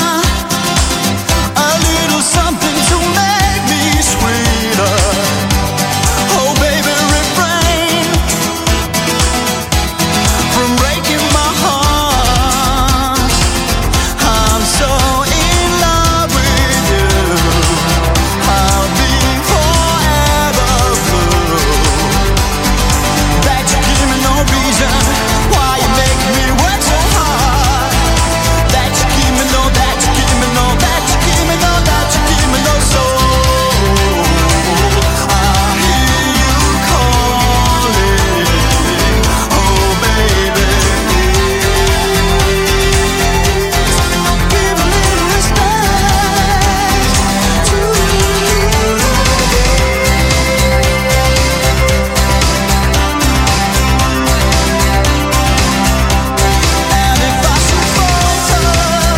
a little something to make me sweeter. Oh baby, refrain from breaking my heart. I'm so in love with you. I'll be forever blue. That you give me no reason why you make me work so hard. That you give me no, that you give me no, that you give me no, that you give me no soul. I hear you calling, oh baby. Give a little respect to And if I should falter,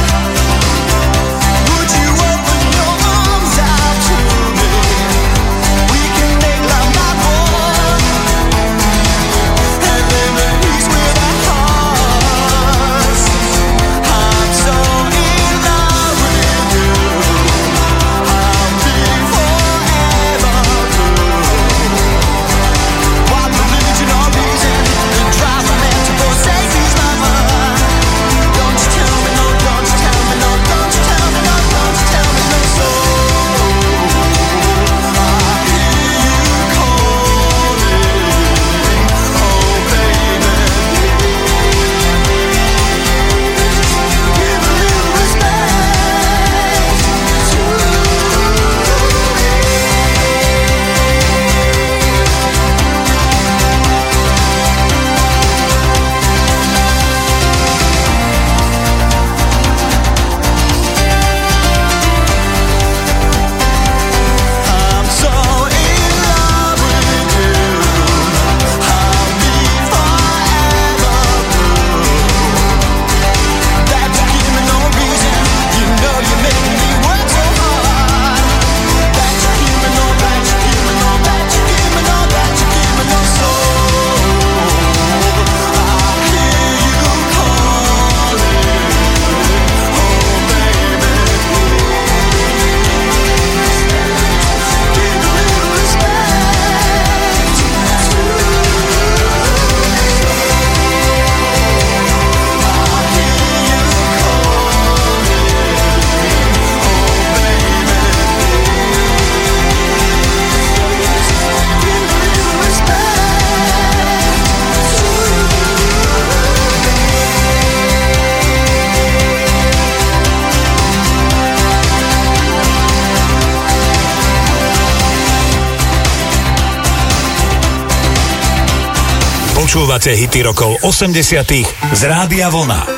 would you open your arms out to me? We can make love my boy and live in peace with our hearts. I'm so in love with you. I'll be forever blue. What religion or reason could drive a man to forsake his lover? Don't you tell me no, don't you tell me no, don't you tell me no, don't you tell me no soul. I hear you calling, oh baby. Give a little respect to I'm so in love with you. I'll be forever blue. That you give me no reason. You know you make me work so hard. That you give me no, that you give me no, that you give me no, that you give me no soul. I hear you calling, oh baby. Give a little respect to Počúvate hity rokov 80 z Rádia Vlna.